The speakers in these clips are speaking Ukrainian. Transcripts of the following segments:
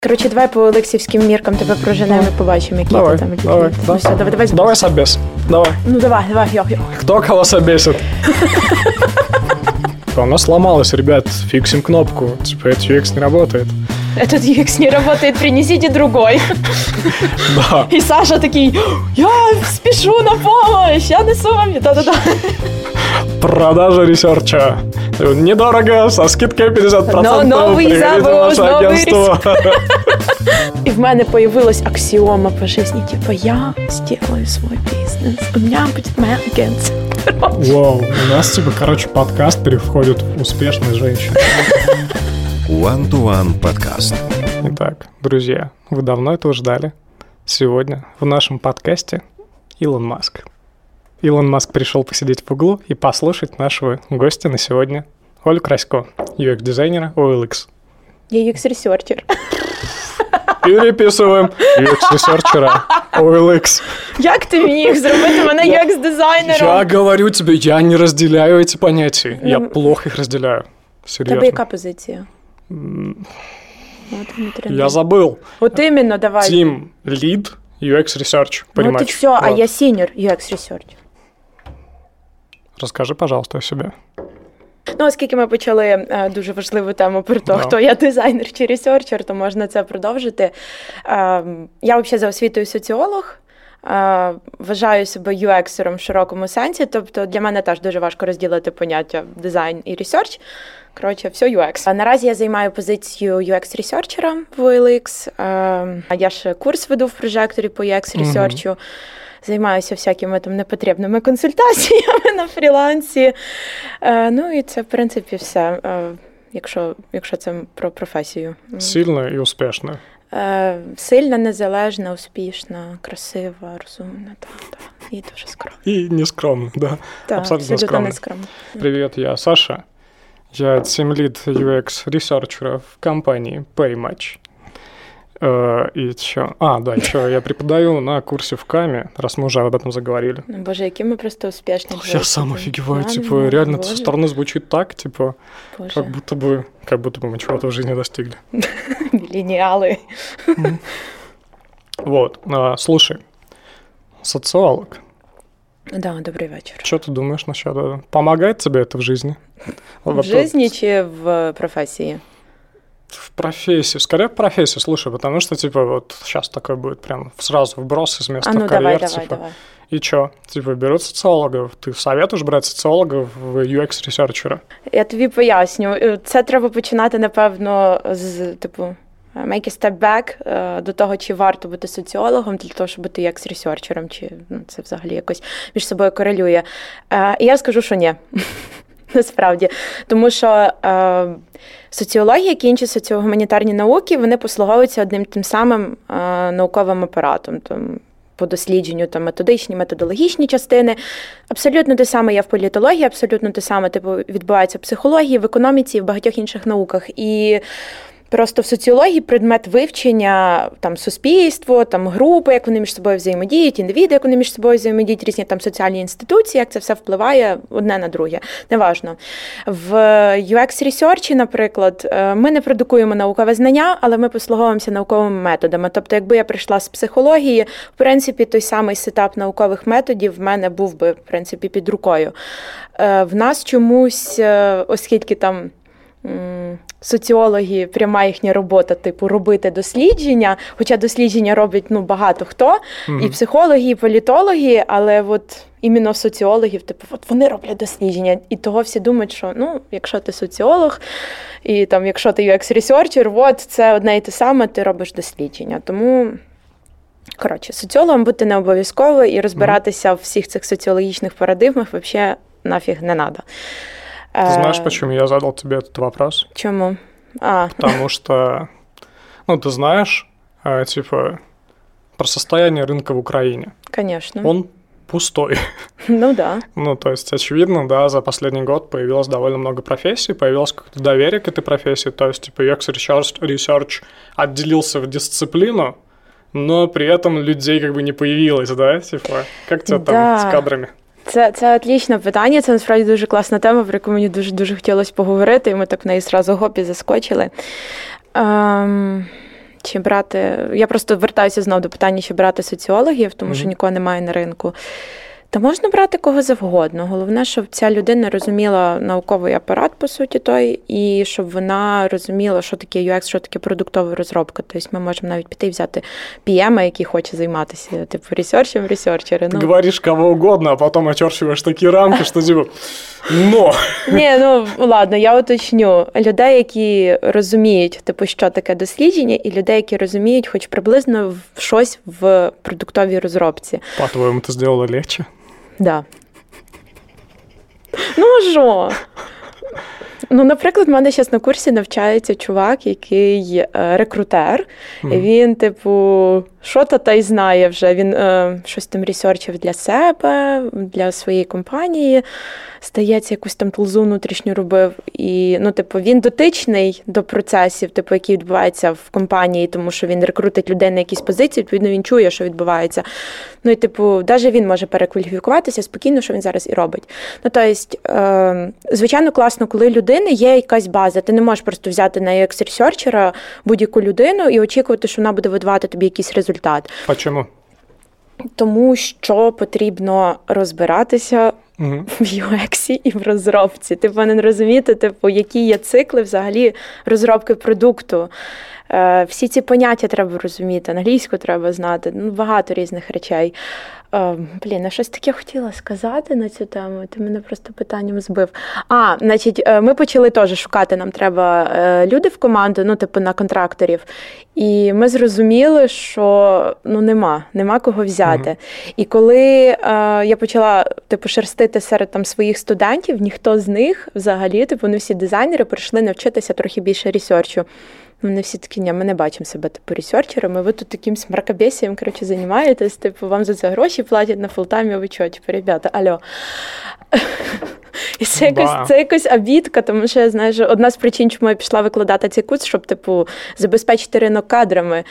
Коротше, давай по олексівським міркам тебе проженемо і побачимо, які давай, ти там. Давай, ну, все, давай собес. Давай. Ну давай, йо. Кто кого собесит? Она сломалась, ребят, фиксим кнопку. Типа, этот UX не работает. Этот UX не работает, принесите другой. Да. И Саша такой, я спешу на помощь, я несу вам. Да-да-да. Продажа ресерча. Недорого, со скидкой 50%. Но новый завод, новый агентство. И в мене появилась аксиома по жизни, типа, я сделаю свой бизнес, у меня будет моя агентство. Вау, у нас, подкаст переходит в успешной женщины. One-to-One подкаст. Итак, друзья, вы давно этого ждали. Сегодня в нашем подкасте Илон Маск. Илон Маск пришел посидеть в углу и послушать нашего гостя на сегодня, Олю Красько, UX-дизайнера OLX. Я UX-ресерчер. Переписуємо UX-ресерчера OLX. Як ти міг зробити мене UX-дизайнером? Я говорю тебе, я не разделяю эти понятия. Я плохо их разделяю. Серьезно. Тебе яка позиція? Я забыл. Вот именно, давай. Team Lead UX Research. Вот и все, вот. А я Senior UX Research. Розкажи, пожалуйста, о себе. Ну, оскільки ми почали дуже важливу тему про те, хто я дизайнер чи ресерчер, то можна це продовжити. Я взагалі за освітою соціолог. Вважаю себе UX-ером в широкому сенсі, тобто для мене теж дуже важко розділити поняття дизайн і ресерч. Коротше, все UX. Наразі я займаю позицію UX-ресерчера в OLX. Я ще курс веду в прожекторі по UX-ресерчу. Займаюся всякими там непотрібними консультаціями на фрілансі. Ну і це, в принципі, все, якщо це про професію. Сильна і успішна. Сильна, незалежна, успішна, красива, розумна, так. І дуже скромна. І нескромна, да. Так, абсолютно нескромна. Привіт, я Саша. Я Team Lead UX Researcher в компании Paymatch. И еще... еще я преподаю на курсе в КАМе, раз мы уже об этом заговорили. Боже, какие мы просто успешные. Я сам офигеваю, реально это со стороны звучит так, как будто бы мы чего-то в жизни достигли. Миллениалы. Вот, слушай, социолог. Да, добрый вечер. Что ты думаешь насчет этого? Помогает тебе это в жизни? В жизни чи в профессии? В профессии, скорее в профессии, слушай, потому что, вот сейчас такой будет прям сразу вброс из места в карьер, давай. И чё? Берут социологов, ти советуєш брати соціологів в UX-ресерчера? Я тобі поясню. Це треба починати, напевно, з, make a step back до того, чи варто бути соціологом для того, щоб бути UX-ресерчером, чи це взагалі якось між собою корелює. І я скажу, що ні. Насправді. Тому що соціологія, як і інші соціогуманітарні науки, вони послуговуються одним тим самим науковим апаратом. По дослідженню методичні, методологічні частини. Абсолютно те саме є в політології, абсолютно те саме відбувається в психології, в економіці і в багатьох інших науках. І просто в соціології предмет вивчення суспільство, групи, як вони між собою взаємодіють, індивіди, як вони між собою взаємодіють, різні соціальні інституції, як це все впливає одне на друге. Неважно. В UX-ресерчі, наприклад, ми не продукуємо наукове знання, але ми послуговуємося науковими методами. Тобто, якби я прийшла з психології, в принципі, той самий сетап наукових методів в мене був би, в принципі, під рукою. В нас чомусь, оскільки соціологи, пряма їхня робота, робити дослідження, хоча дослідження роблять, багато хто, і психологи, і політологи, але іменно соціологів, вони роблять дослідження, і того всі думають, що, якщо ти соціолог, і якщо ти UX-ресерчер, це одне і те саме, ти робиш дослідження. Тому, соціологом бути не обов'язково, і розбиратися в всіх цих соціологічних парадигмах взагалі нафіг не треба. Ты знаешь, почему я задал тебе этот вопрос? Чему? Потому что, ты знаешь, про состояние рынка в Украине. Конечно. Он пустой. Да. То есть, очевидно, да, за последний год появилось довольно много профессий, появилось какое-то доверие к этой профессии, то есть, UX-ресерч отделился в дисциплину, но при этом людей не появилось, да? Как тебе там с кадрами? Це отлічне питання, це насправді дуже класна тема, про яку мені дуже-дуже хотілося поговорити, і ми так в неї зразу гоп і заскочили. чи брати... Я просто вертаюся знову до питання, чи брати соціологів, тому що нікого немає на ринку. Та можна брати кого завгодно. Головне, щоб ця людина розуміла науковий апарат, по суті, той, і щоб вона розуміла, що таке UX, що таке продуктова розробка. Тобто ми можемо навіть піти і взяти PM, який хоче займатися, типу, ресерчери. Ти говориш кого угодно, а потім очерчуєш такі рамки, що типу, Ні, ладно, я уточню. Людей, які розуміють, типу, що таке дослідження, і людей, які розуміють хоч приблизно щось в продуктовій розробці. По-твоєму, ти зробила легче? Да. Що? Наприклад, в мене зараз на курсі навчається чувак, який рекрутер. Він, типу, що-то та й знає вже. Він щось там ресерчив для себе, для своєї компанії. Здається, якусь там тулзу внутрішню робив. І, він дотичний до процесів, які відбуваються в компанії, тому що він рекрутить людей на якісь позиції, відповідно, він чує, що відбувається. Навіть він може перекваліфікуватися спокійно, що він зараз і робить. Звичайно, класно, коли людини є якась база. Ти не можеш просто взяти на UX-ресерчера будь-яку людину і очікувати, що вона буде видавати тобі якийсь результат. А чому? Тому що потрібно розбиратися в UX і в розробці. Ти повинен розуміти, які є цикли взагалі розробки продукту. Всі ці поняття треба розуміти, англійську треба знати, багато різних речей. Щось таке хотіла сказати на цю тему, ти мене просто питанням збив. Ми почали теж шукати, нам треба люди в команду, на контракторів. І ми зрозуміли, що нема кого взяти. І коли я почала шерстити серед своїх студентів, ніхто з них взагалі, вони всі дизайнери, прийшли навчитися трохи більше ресерчу. Вони всі такі, ми не бачимо себе ресерчерами, ви тут таким мракобесієм, займаєтесь, вам за це гроші платять на фултаймі, ви чого, ребята, алло. І це якось обідка, тому що, одна з причин, чому я пішла викладати цей курс, щоб, забезпечити ринок кадрами.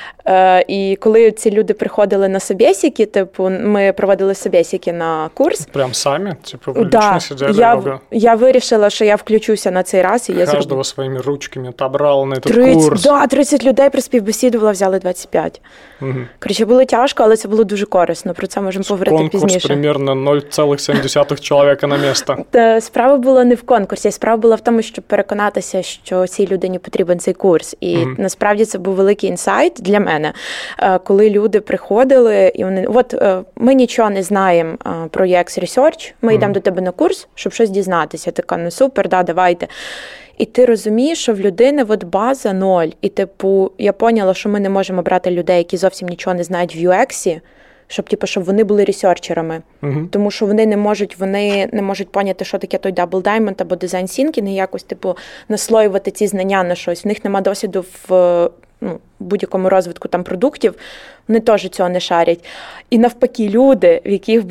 І коли ці люди приходили на собєсіки, ми проводили собєсіки на курс. Прям самі? Ви лично сиділи? Я вирішила, що я включуся на цей раз. І Кожного своїми ручками отобрали на цей курс. 30 людей при співбесідувала, взяли 25. Було тяжко, але це було дуже корисно. Про це можемо поговорити пізніше. Конкурс примерно 0,7 чоловіка на місце. Справа була не в конкурсі, справа була в тому, щоб переконатися, що цій людині потрібен цей курс. І насправді це був великий інсайт для мене, коли люди приходили, і вони, ми нічого не знаємо про UX Research, ми йдемо до тебе на курс, щоб щось дізнатися. Така, супер, давайте. І ти розумієш, що в людини база 0. І я поняла, що ми не можемо брати людей, які зовсім нічого не знають в UX, щоб вони були ресерчерами. Тому що вони не можуть поняти, що таке той Double Diamond або Design Thinking, і якось наслоювати ці знання на щось. В них немає досвіду в будь-якому розвитку продуктів, вони теж цього не шарять. І навпаки, люди, в яких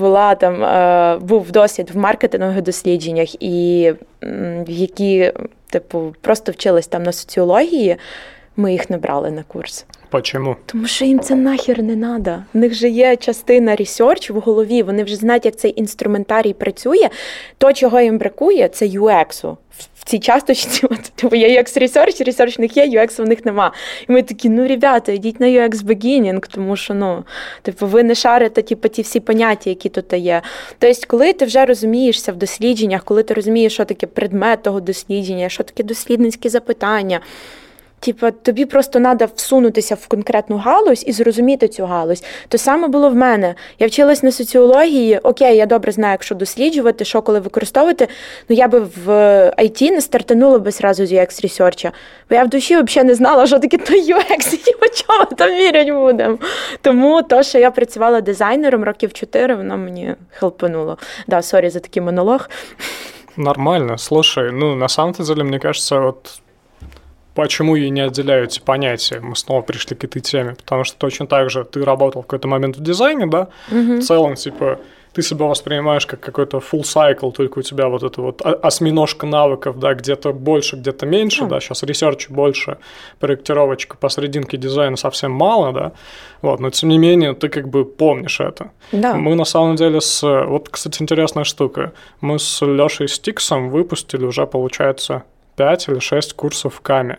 був досвід в маркетингових дослідженнях і які просто вчились на соціології, ми їх не брали на курс. Чому? Тому що їм це нахер не треба. В них же є частина ресерч в голові, вони вже знають, як цей інструментарій працює. То, чого їм бракує, це UX-у. В цій часточці, є UX ресерч в них є, UX в них нема. І ми такі, ребята, йдіть на UX beginning, тому що, ви не шарите, ті всі поняття, які тут є. Тобто, коли ти вже розумієшся в дослідженнях, коли ти розумієш, що таке предмет того дослідження, що таке дослідницькі запитання, тобі просто треба всунутися в конкретну галузь і зрозуміти цю галузь. То саме було в мене. Я вчилась на соціології, окей, я добре знаю, як що досліджувати, що коли використовувати, я би в IT не стартанула би зразу з UX-ресерча. Бо я в душі взагалі не знала, що таке той UX, і по чому там вірять будемо. Тому то, що я працювала дизайнером років 4, воно мені хелпануло. Да, сорі за такий монолог. Нормально. Слушай, на самом-то деле, мне кажется, почему ей не отделяют эти понятия? Мы снова пришли к этой теме. Потому что точно так же ты работал в какой-то момент в дизайне, да? В целом, ты себя воспринимаешь как какой-то full cycle, только у тебя это осьминожка навыков, да, где-то больше, где-то меньше, да, сейчас ресерч больше, проектировочка посерединке дизайна совсем мало, да, но тем не менее ты помнишь это. Да. Мы на самом деле кстати, интересная штука, мы с Лешей Стиксом выпустили уже, получается, 5 или 6 курсов в КАМе.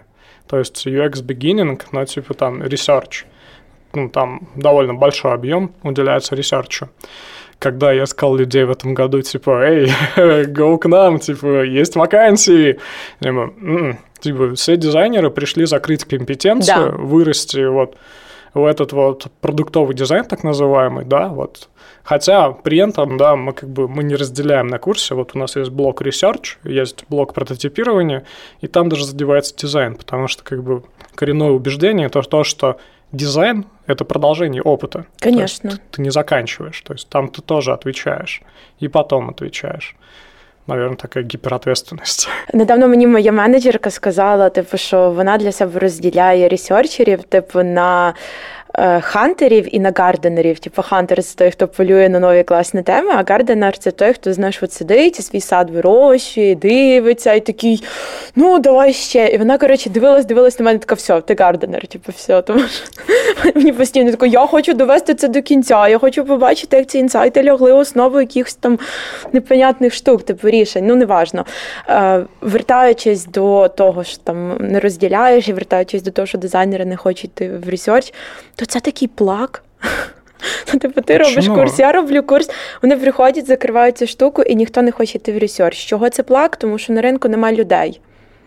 то есть UX beginning, но типа там research. Там довольно большой объем уделяется ресерчу. Когда я искал людей в этом году, типа, эй, go к нам, типа, есть вакансии. Типа, все дизайнеры пришли закрыть компетенцию, вырасти вот в этот вот продуктовый дизайн, так называемый, да, вот. Хотя при этом, да, мы не разделяем на курсе. Вот у нас есть блок research, есть блок прототипирования, и там даже задевается дизайн, потому что коренное убеждение то, что дизайн – это продолжение опыта. Конечно. Ты не заканчиваешь, то есть там ты тоже отвечаєш, і потім отвечаєш. Наверное, така гіперответственність. Недавно мені моя менеджерка сказала, що вона для себе розділяє ресерчерів, на хантерів і на гарденерів. Хантер – це той, хто полює на нові класні теми, а гарденер – це той, хто, знаєш, от сидить і свій сад вирощує, дивиться, і такий, давай ще. І вона, дивилась на мене, така, все, ти гарденер, все. Тому що мені постійно тако, я хочу довести це до кінця, я хочу побачити, як ці інсайти лягли в основу якихось там непонятних штук, рішень, неважно. Вертаючись до того, що там не розділяєш, і вертаючись до того, що дизайнери не хочуть йти в ресерч, то це такий плак. Ти робиш курс, я роблю курс, вони приходять, закривають цю штуку, і ніхто не хоче йти в ресерч. Чого це плак? Тому що на ринку немає людей.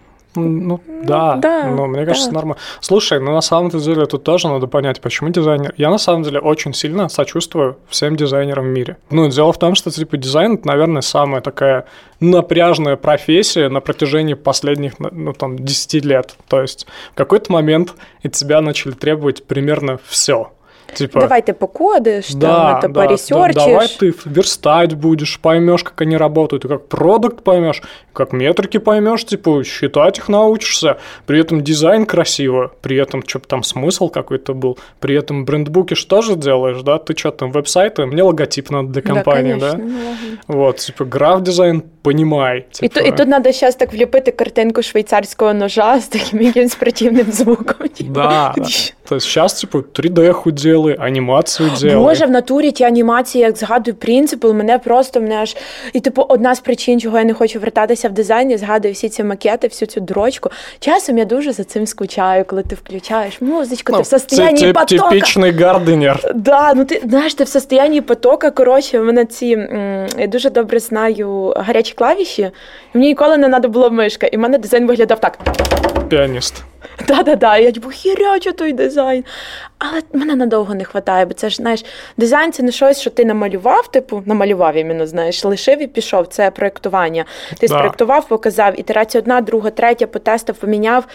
Мне кажется, нормально. Слушай, на самом-то деле тут тоже надо понять, почему дизайнер... Я на самом деле очень сильно сочувствую всем дизайнерам в мире. Дело в том, что дизайн, это, наверное, самая такая напряжная профессия на протяжении последних, 10 лет. То есть в какой-то момент от тебя начали требовать примерно все. Давай ты покодишь, поресерчишь. Давай ты верстать будешь, поймешь, как они работают, и как продукт поймешь, как метрики поймешь, считать их научишься. При этом дизайн красиво, при этом что-то там смысл какой-то был, при этом брендбуки что же делаешь, да? Ты что-то там веб-сайты, мне логотип надо для компании, да? Вот, граф-дизайн понимай. І тут надо сейчас так вліпити картинку швейцарського ножа з таким якимось противним звуком. Да. То есть сейчас 3D-ху делай, анімацію делай. Боже, в натурі ті анімації, як згадую принципи, мене аж... І одна з причин, чого я не хочу вертатися в дизайн, я згадую всі ці макети, всю цю дрочку. Часом я дуже за цим скучаю, коли ти включаєш музичку, ти в состоянні потока. Типічний гарденер. Да, ти знаєш, ти в состоянні потока, у мене я дуже добре знаю гарячі клавіші, і мені ніколи не треба було мишка, і в мене дизайн виглядав так. Піаніст. Да, я хірячу той дизайн. Але мене надовго не вистачає, бо це ж, знаєш, дизайн – це не щось, що ти намалював іменно, знаєш, лишив і пішов, це проєктування. Ти спроєктував, показав, ітерація 1, 2, 3, потестив, поміняв.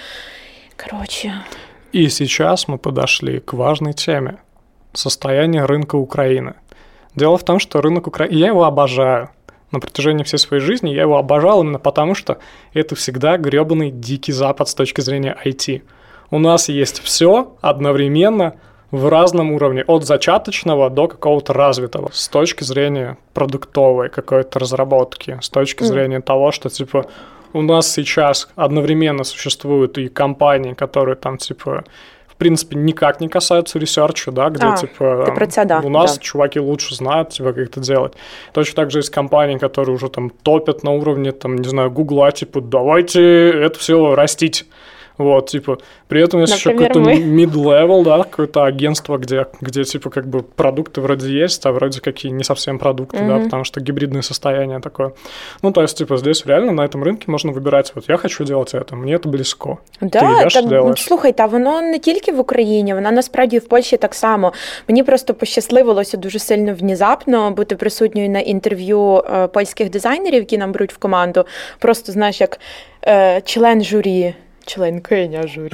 И сейчас мы подошли к важной теме – состояние рынка Украины. Дело в том, что рынок Украины, я его обожаю. На протяжении всей своей жизни я его обожал именно потому, что это всегда грёбаный дикий запад с точки зрения IT. У нас есть все одновременно в разном уровне, от зачаточного до какого-то развитого, с точки зрения продуктовой какой-то разработки, с точки зрения того, что, у нас сейчас одновременно существуют и компании, которые там, в принципе, никак не касаются ресерча, да, где, у нас чуваки лучше знают, как это делать. Точно так же есть компании, которые уже там топят на уровне, Гугла, давайте это все растить. Вот, при этом есть еще какой-то mid-level, да, какое-то агентство, где продукты вроде есть, а вроде какие не совсем продукты, да, потому что гибридное состояние такое. То есть, здесь реально на этом рынке можно вибирати, я хочу делать это, мені це близько. Да, слухай, воно не тільки в Україні, воно насправді в Польщі так само. Мені просто пощасливилося дуже сильно внезапно бути присутньою на інтерв'ю польських дизайнерів, які нам беруть в команду. Просто, знаєш, як член журі. Членкиня журі.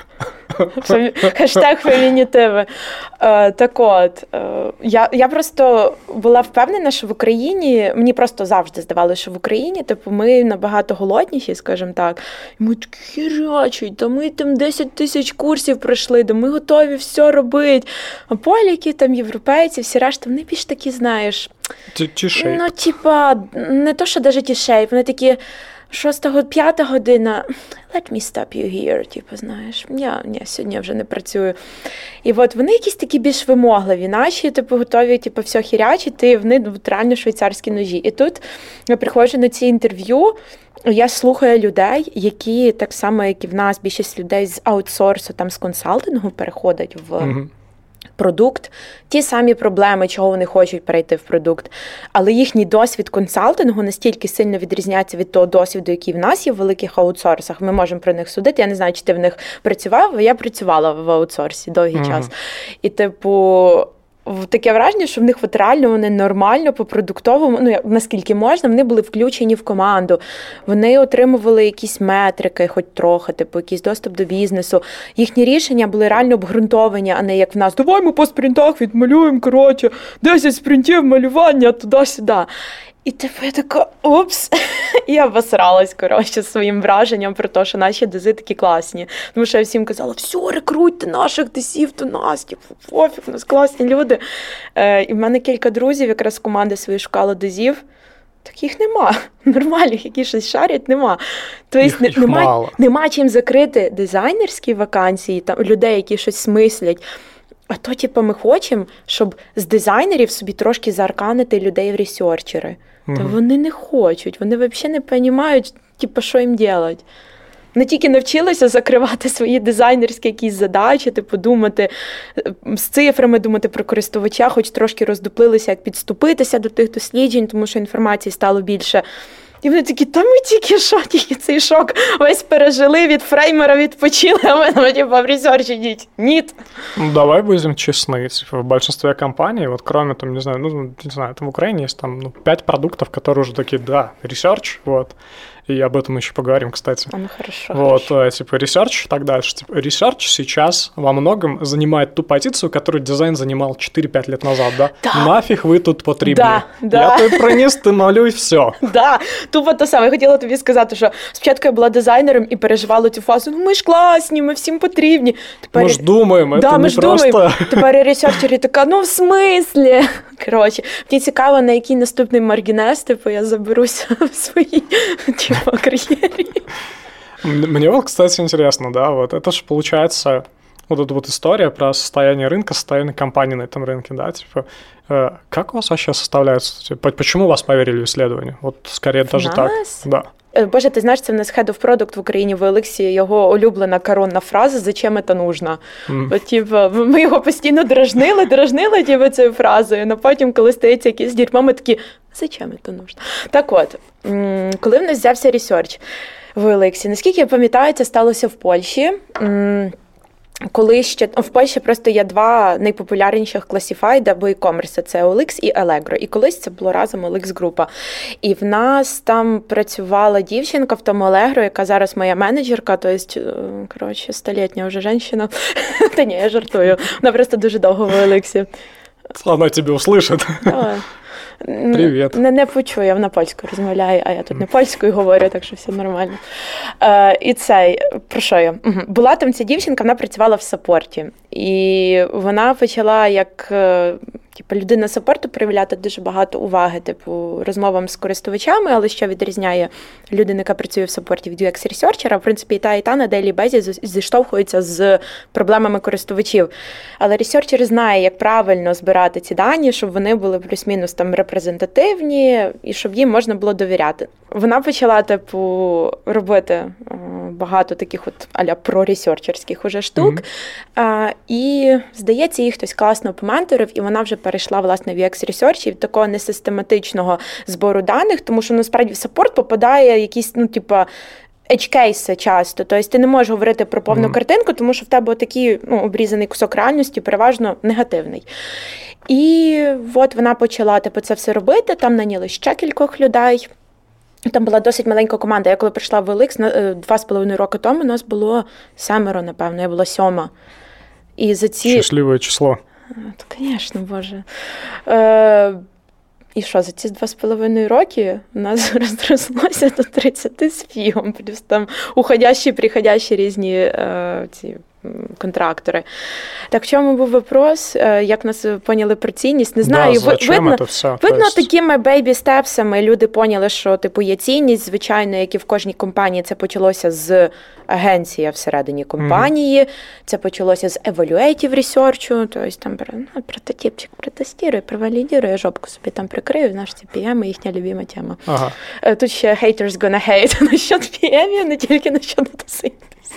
Хештег фемінітиви. Так от, я просто була впевнена, що в Україні, мені просто завжди здавалося, що в Україні, ми набагато голодніші, скажімо так. І ми такі хірячі, ми там 10 тисяч курсів пройшли, ми готові все робити. А поляки, європейці, всі решта, вони більш такі, знаєш, тішей. Не то, що навіть тішей, вони такі, 5 година, let me stop you here, типу, знаєш, ні, сьогодні я вже не працюю. І от вони якісь такі більш вимогливі, наші, типу, готові, типу, все хірячити, вони реально швейцарські ножі. І тут я приходжу на ці інтерв'ю, я слухаю людей, які так само, як і в нас, більшість людей з аутсорсу, там, з консалтингу переходять в продукт, ті самі проблеми, чого вони хочуть перейти в продукт. Але їхній досвід консалтингу настільки сильно відрізняється від того досвіду, який в нас є в великих аутсорсах. Ми можемо про них судити. Я не знаю, чи ти в них працював, а я працювала в аутсорсі довгий час. І, типу, таке враження, що в них от реально вони нормально по продуктовому, ну, наскільки можна, вони були включені в команду. Вони отримували якісь метрики, хоч трохи, типу, якийсь доступ до бізнесу. Їхні рішення були реально обґрунтовані, а не як в нас. Давай ми по спринтах відмалюємо, 10 спринтів малювання туди-сюди. І типу я така, упс, і я обосралась, своїм враженням про те, що наші дизи такі класні. Тому що я всім казала, все, рекрутьте наших дизів до нас, типу, пофіг, у нас класні люди. І в мене кілька друзів якраз з команди своєї шукали дизів, так їх нема. Нормальних, які щось шарять, нема. Тобто нема чим закрити дизайнерські вакансії, там, людей, які щось смислять. А то, типу, ми хочемо, щоб з дизайнерів собі трошки заарканити людей в ресерчери. Та вони не хочуть, вони взагалі не розуміють, типу, що їм робити. Вони тільки навчилися закривати свої дизайнерські якісь задачі, типу, думати з цифрами, думати про користувача, хоч трошки роздуплилися, як підступитися до тих досліджень, тому що інформації стало більше. І вони такі, та ми тільки цей шок весь пережили, від фреймера відпочили, а ми типу, в ресерч ідіть. Ніт. Ну, давай будем честны. Типа, в большинстве компаний, вот кроме, там, не знаю, там в Украине есть там 5 продуктов, которые уже такие, да, ресерч, вот. И об этом еще поговорим, кстати. Ну, хорошо. Вот, хорошо. типа, ресерч и так дальше. Типа, ресерч сейчас во многом занимает ту позицию, которую дизайн занимал 4-5 лет назад, да? Да. Нафиг ви тут потрібні. Да. Я тобі приніс, ти малюй, все. Да, тупо те саме. Я хотіла тобі сказати, що спочатку я була дизайнером і переживала цю фазу, ну ми ж класні, ми всім потрібні. Тепер... Ми ж думаємо, це не просто... Думаємо. Тепер ресерчері така, ну в смислі? Коротше, мені цікаво, на який наступний маргінез, типу, я заберуся в своїй, типу, кар'єрі. Мне вот, кстати, интересно, да, вот это же получается вот эта вот история про состояние рынка, состояние компании на этом рынке, да, типа, как у вас вообще составляется, типа, почему вас поверили в исследование? Вот скорее даже так, да. Боже, ти знаєш, це в нас Head of Product в Україні в Олексі, його улюблена коронна фраза «Зачем це нужно?». От, типу, ми його постійно дражнили типу, цією фразою, але потім, коли стається якийсь дерьмо, ми такі «Зачем це нужно?». Так от, коли в нас взявся ресерч в Олексі, наскільки я пам'ятаю, це сталося в Польщі. Коли ще в Польщі просто є 2 найпопулярніших класифайд або e-commerce, це OLX і Allegro. І колись це було разом OLX група. І в нас там працювала дівчинка в тому Allegro, яка зараз моя менеджерка, тобто, коротше, 100-літня вже жінка. Та ні, я жартую. Вона просто дуже довго в OLX. Вона тебе услышить. Привіт. Не почує, вона польською розмовляє, а я тут не польською говорю, так що все нормально. І цей, про що я? Була там ця дівчинка, вона працювала в саппорті. І вона почала як людина саппорту проявляти дуже багато уваги, типу, розмовам з користувачами, але що відрізняє людину, яка працює в саппорті від UX-ресерчера, в принципі, і та на дейлі безі зіштовхується з проблемами користувачів. Але ресерчер знає, як правильно збирати ці дані, щоб вони були плюс-мінус там репрезентативні і щоб їм можна було довіряти. Вона почала, типу, робити багато таких от а-ля проресерчерських уже штук. І, здається, їх хтось класно поменторив, і вона вже перейшла, власне, в UX-ресерч і від такого несистематичного збору даних, тому що, насправді, в саппорт попадає якісь, edge-кейси часто. Тобто ти не можеш говорити про повну картинку, тому що в тебе такий обрізаний кусок реальності, переважно негативний. І от вона почала це все робити, там наняли ще кількох людей. Там була досить маленька команда. Я коли прийшла в OLX 2,5 роки тому, у нас було 7, напевно, я була 7. І за ці... Щасливе число. Звісно, Боже. І що, за ці 2,5 роки у нас розрослося до 30 з фігом. Плюс там уходящі, приходящі різні ці контрактори. Так в чому був вопрос? Як нас поняли про цінність? Не знаю. Да, зачем це все? Видно, такими бейбі-степсами люди поняли, що типу є цінність. Звичайно, як і в кожній компанії, це почалося з агенції всередині компанії, це почалося з evaluative research, тобто там прототипчик протестує, провалідує, жопку собі там прикрию, знаєш, ці PM, їхня любима тема. Ага. Тут ще haters gonna hate насчет PM, не тільки насчет дата-сайентистів.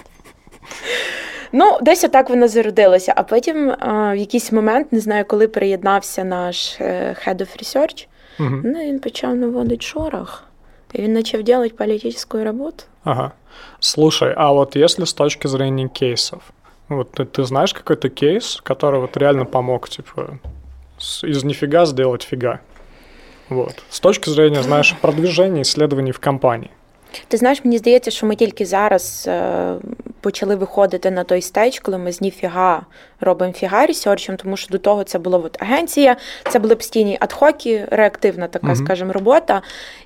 Ну, десь отак воно зародилося. А потім в якийсь момент, не знаю, коли приєднався наш Head of Research, він почав наводити шорох. И он начал делать политическую работу. Ага. Слушай, а вот если с точки зрения кейсов, вот ты знаешь какой-то кейс, который вот реально помог, типа, из нифига сделать фига? Вот. С точки зрения, знаешь, продвижения исследований в компании. Ти знаєш, мені здається, що ми тільки зараз почали виходити на той стейдж, коли ми з ніфіга робимо фіга ресерчем, тому що до того це була от агенція, це були постійні адхоки, реактивна така, скажімо, робота.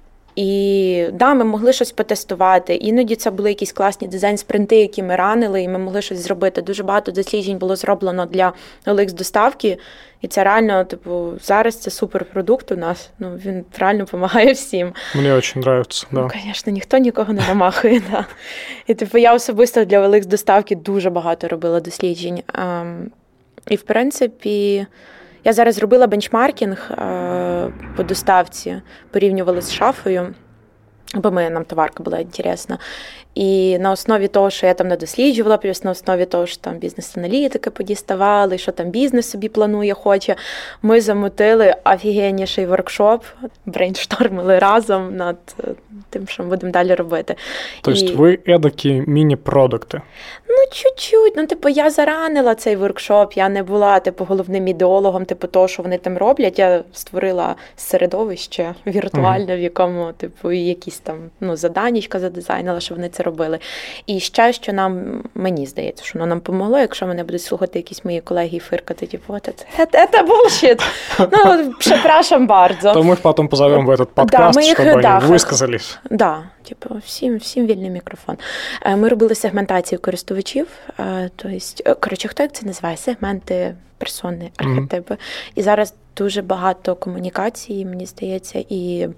І да, ми могли щось потестувати. Іноді це були якісь класні дизайн-спринти, які ми ранили, і ми могли щось зробити. Дуже багато досліджень було зроблено для OLX-доставки, і це реально, типу, зараз це суперпродукт у нас. Ну, він реально допомагає всім. Мені дуже подобається, да. Ну, звісно, ніхто нікого не намахує, да. І, типу, я особисто для OLX-доставки дуже багато робила досліджень. І, в принципі, я зараз зробила бенчмаркінг по доставці, порівнювала з шафою, бо нам товарка була інтересна. І на основі того, що я там надосліджувала, плюс на основі того, що там бізнес-аналітики подіставали, що там бізнес собі планує, хоче, ми замутили офігенніший воркшоп, брейнштормили разом над тим, що ми будемо далі робити. Тобто ви едакі міні-продукти? Ну, чуть-чуть. Ну, типу, я заранила цей воркшоп, я не була, типу, головним ідеологом, типу, того, що вони там роблять. Я створила середовище віртуальне, в якому, типу, якісь там, ну, заданнячка задизайнила, що вони це робили. І ще, що мені здається, що воно нам помогло, якщо мене будуть слухати якісь мої колеги і фиркати, типу, це bullshit. Ну, przepraszam bardzo. То ми їх потім позовемо в этот подкаст, щоб вони висказались. Да, типу, всім вільний мікрофон. Ми робили сегментацію користувачів, тобто, коротше, хто як це називає? Сегменти, персони, архетипи. І зараз дуже багато комунікації, мені здається, і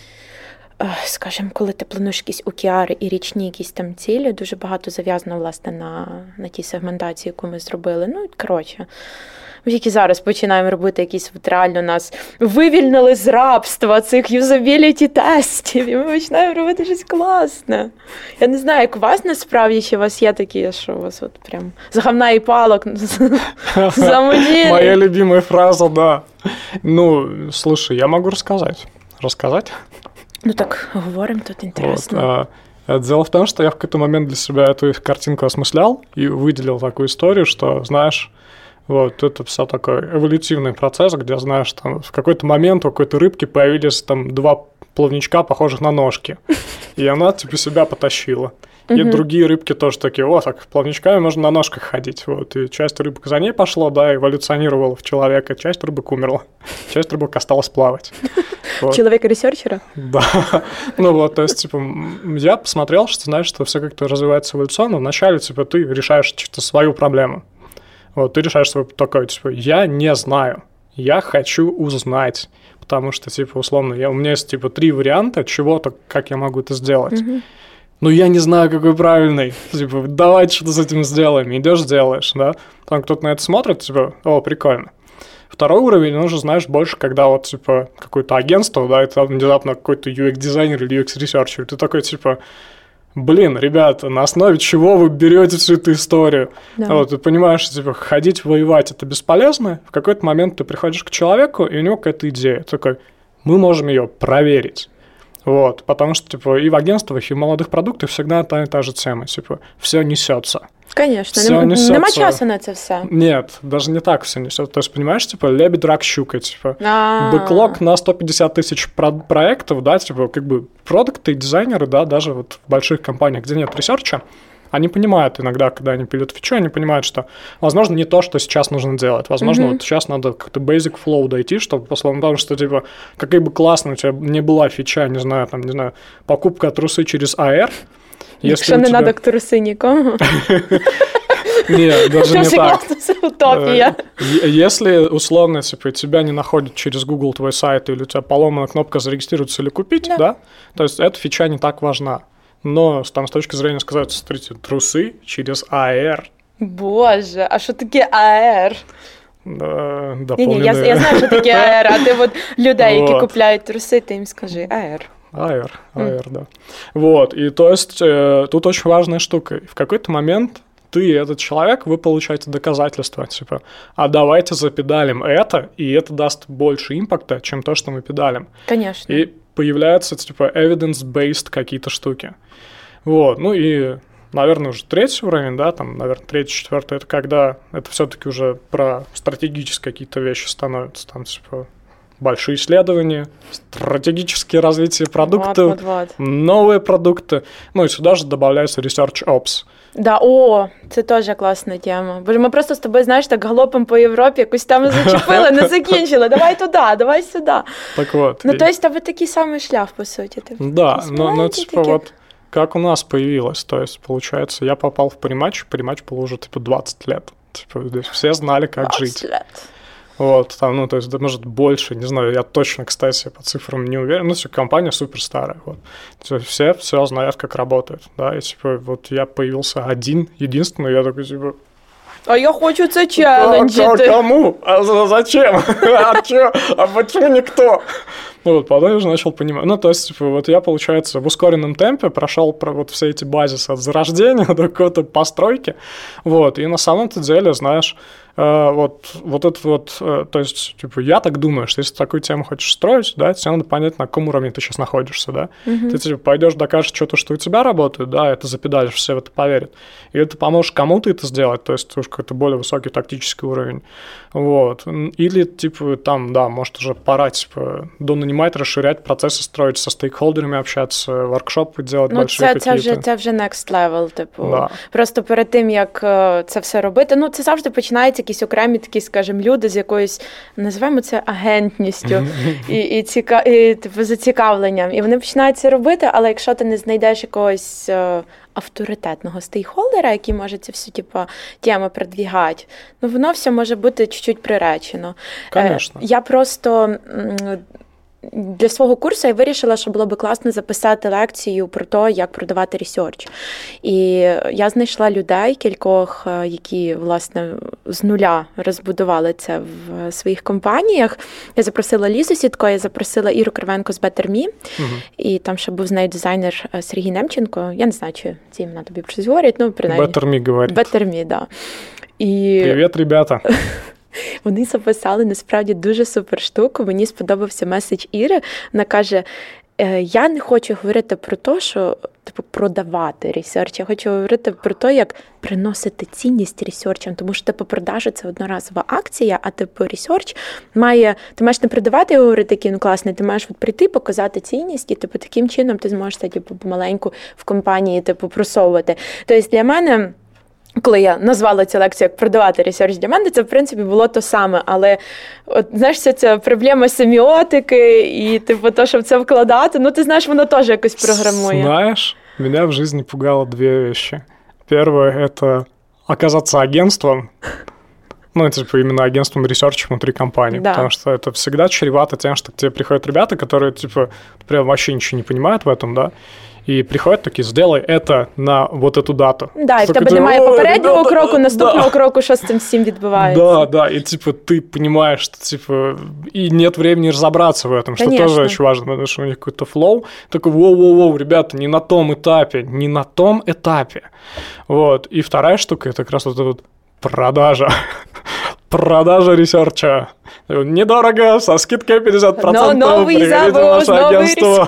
скажімо, коли ти плануєш якісь OKR і річні якісь там цілі, дуже багато зав'язано, власне, на тій сегментації, яку ми зробили. Ну, коротше, ми тільки зараз починаємо робити якісь, от реально нас вивільнили з рабства цих юзабіліті-тестів, і ми починаємо робити щось класне. Я не знаю, як у вас насправді, чи у вас є такі, що у вас от прям з говна і палок самодільні. Моя любимая фраза, да. Ну, слушай, я могу рассказать. Рассказать? Ну так, говорим, тут интересно. Вот, дело в том, что я в какой-то момент для себя эту картинку осмыслял и выделил такую историю, что, знаешь, вот это все такой эволютивный процесс, где, знаешь, там в какой-то момент у какой-то рыбки появились там два плавничка, похожих на ножки, и она типа себя потащила. И другие рыбки тоже такие, о, так плавничками можно на ножках ходить. Вот. И часть рыбок за ней пошла, да, эволюционировала в человека, часть рыбок умерла, часть рыбок осталась плавать. Вот. Человека-ресерчера? Да. Ну вот, то есть, типа, я посмотрел, что, знаешь, что все как-то развивается эволюционно. Вначале, типа, ты решаешь что-то свою проблему. Вот, ты решаешь свою такой, типа, я не знаю, я хочу узнать. Потому что, типа, условно, у меня есть, типа, 3 варианта чего-то, как я могу это сделать. Ну, я не знаю, какой правильный. Типа, давайте что-то с этим сделаем. Идешь, делаешь, да? Там кто-то на это смотрит, типа, о, прикольно. Второй уровень, он уже, знаешь, больше, когда вот, типа, какое-то агентство, да, и там внезапно какой-то UX-дизайнер или UX-ресерчер, ты такой, типа, блин, ребята, на основе чего вы берете всю эту историю? Да. Вот, ты понимаешь, типа, ходить воевать – это бесполезно. В какой-то момент ты приходишь к человеку, и у него какая-то идея. Ты такой, мы можем ее проверить. Вот, потому что, типа, и в агентствах, и в молодых продуктах всегда та же тема, типа, все несется. Конечно, нема часу на це все. Нет, даже не так все несется. То есть, понимаешь, типа, лебедь, рак, щука, типа, бэклог на 150 тысяч проектов, да, типа, как бы, продукты и дизайнеры, да, даже вот в больших компаниях, где нет ресерча, они понимают иногда, когда они пилят фичу, они понимают, что, возможно, не то, что сейчас нужно делать. Возможно, вот сейчас надо как-то basic flow дойти, чтобы, потому что, типа, какая бы классно у тебя не была фича, не знаю, покупка трусы через AR. Якщо не треба к труси нікому. Нет, даже не Тоже так. классно, утопия. Если, условно, типа, тебя не находят через Google твой сайт, или у тебя поломана кнопка «Зарегистрироваться» или «Купить», да? То есть эта фича не так важна. Но там с точки зрения сказать, смотрите, трусы через AR. Боже, а що таке АР? Дополненные... Я знаю, що таке АР, а ти от людей, які купляють труси, ти їм скажи АР. AR, да. Вот, и то есть тут очень важная штука. В какой-то момент ты и этот человек, вы получаете доказательства, типа, а давайте запедалим это, и это даст больше импакта, чем то, что мы педалим. Конечно. И появляются, типа, evidence-based какие-то штуки. Вот, ну и, наверное, уже третий уровень, да, там, наверное, третий, четвертый, это когда это все-таки уже про стратегические какие-то вещи становятся, там, типа, большие исследования, стратегические развитие продуктов, новые продукты. Ну и сюда же добавляется Research Ops. Да, це теж класна тема. Боже, ми просто з тобою, знаєш, так галопом по Європі якусь тему зачепили, не закінчили. Давай туди, давай сюди. Так вот. Ну, то есть, тебе такий самий шлях, по суті. Да, но типа вот как у нас появилось, то есть, получается, я попал в Parimatch был уже, типа, 20 лет. Типа, здесь все знали, как жить. Лет. Вот, там, ну, то есть, да, может, больше, не знаю, я точно, кстати, по цифрам не уверен, ну, все, компания супер старая, вот. Все знают, как работает, да, и, типа, вот я появился единственный, я такой, типа... А я хочу це челленджити. Кому? А зачем? А почему никто? Ну, вот, потом я уже начал понимать. Ну, то есть, типа, вот я, получается, в ускоренном темпе прошел вот все эти базисы от зарождения до какой-то постройки, вот, и на самом-то деле, знаешь, вот это вот, то есть, типа, я так думаю, что если ты такую тему хочешь строить, да, тебе надо понять, на каком уровне ты сейчас находишься, да. Ты, типа, пойдешь, докажешь что-то, что у тебя работает, да, это запедалишь, все в это поверят. Или ты поможешь кому-то это сделать, то есть, уж какой-то более высокий тактический уровень, вот. Или, типа, там, да, может, уже пора, типа, донанимать, расширять процессы, строить, со стейкхолдерами общаться, воркшопи делать больші какие-то. Це вже next level, типу. Да. Просто перед тим, як це все робити, ну, це завжди починається якісь окремі такі, скажімо, люди з якоюсь, називаємо це агентністю і типу, зацікавленням. І вони починають це робити, але якщо ти не знайдеш якогось авторитетного стейкхолдера, який може цю всю типу, тему продвігати, ну, воно все може бути чуть-чуть приречено. Конечно. Я просто... Для свого курсу я вирішила, що було би класно записати лекцію про те, як продавати ресерч. І я знайшла людей, кількох, які, власне, з нуля розбудували це в своїх компаніях. Я запросила Лізу Сітко, я запросила Іру Кривенко з Better Me, і там ще був з нею дизайнер Сергій Немченко. Я не знаю, чи ці імена тобі щось говорять, ну, принаймні. Better Me говорить. Better Me, да. Привіт, ребята. Вони записали, насправді, дуже супер штуку. Мені сподобався меседж Іри. Вона каже, я не хочу говорити про те, що типу, продавати ресерч. Я хочу говорити про те, як приносити цінність ресерчам. Тому що типу, продажа – це одноразова акція, а типу ресерч має... Ти маєш не продавати і говорити, який він класний, ти маєш от прийти, показати цінність, і типу, таким чином ти зможеш це типу, помаленьку в компанії типу, просовувати. Тобто для мене... Коли я назвала цю лекцію як продавати ресерч для мене, це, в принципі, було то саме. Але, от, знаєш, вся ця проблема семіотики і, типу, то, щоб це вкладати, ну, ти знаєш, воно теж якось програмує. Знаешь, меня в жизни пугало две вещи. Первое – это оказаться агентством, ну, типа, именно агентством ресерча внутри компании, да. Потому что это всегда чревато тем, что к тебе приходят ребята, которые, типа, прям вообще ничего не понимают в этом, да, и приходят такие, сделай это на вот эту дату. Да, і в тебе немає попереднього кроку, наступного кроку, що з цим всім відбувається. Да, и типа ты понимаешь, что типа и нет времени разобраться в этом, что тоже очень важно, потому что у них какой-то флоу, такой, воу, ребята, не на том этапе. Вот, и вторая штука, это как раз вот эта вот продажа ресерча. Недорого, со скидкой 50%. Но новый завоз, агентство.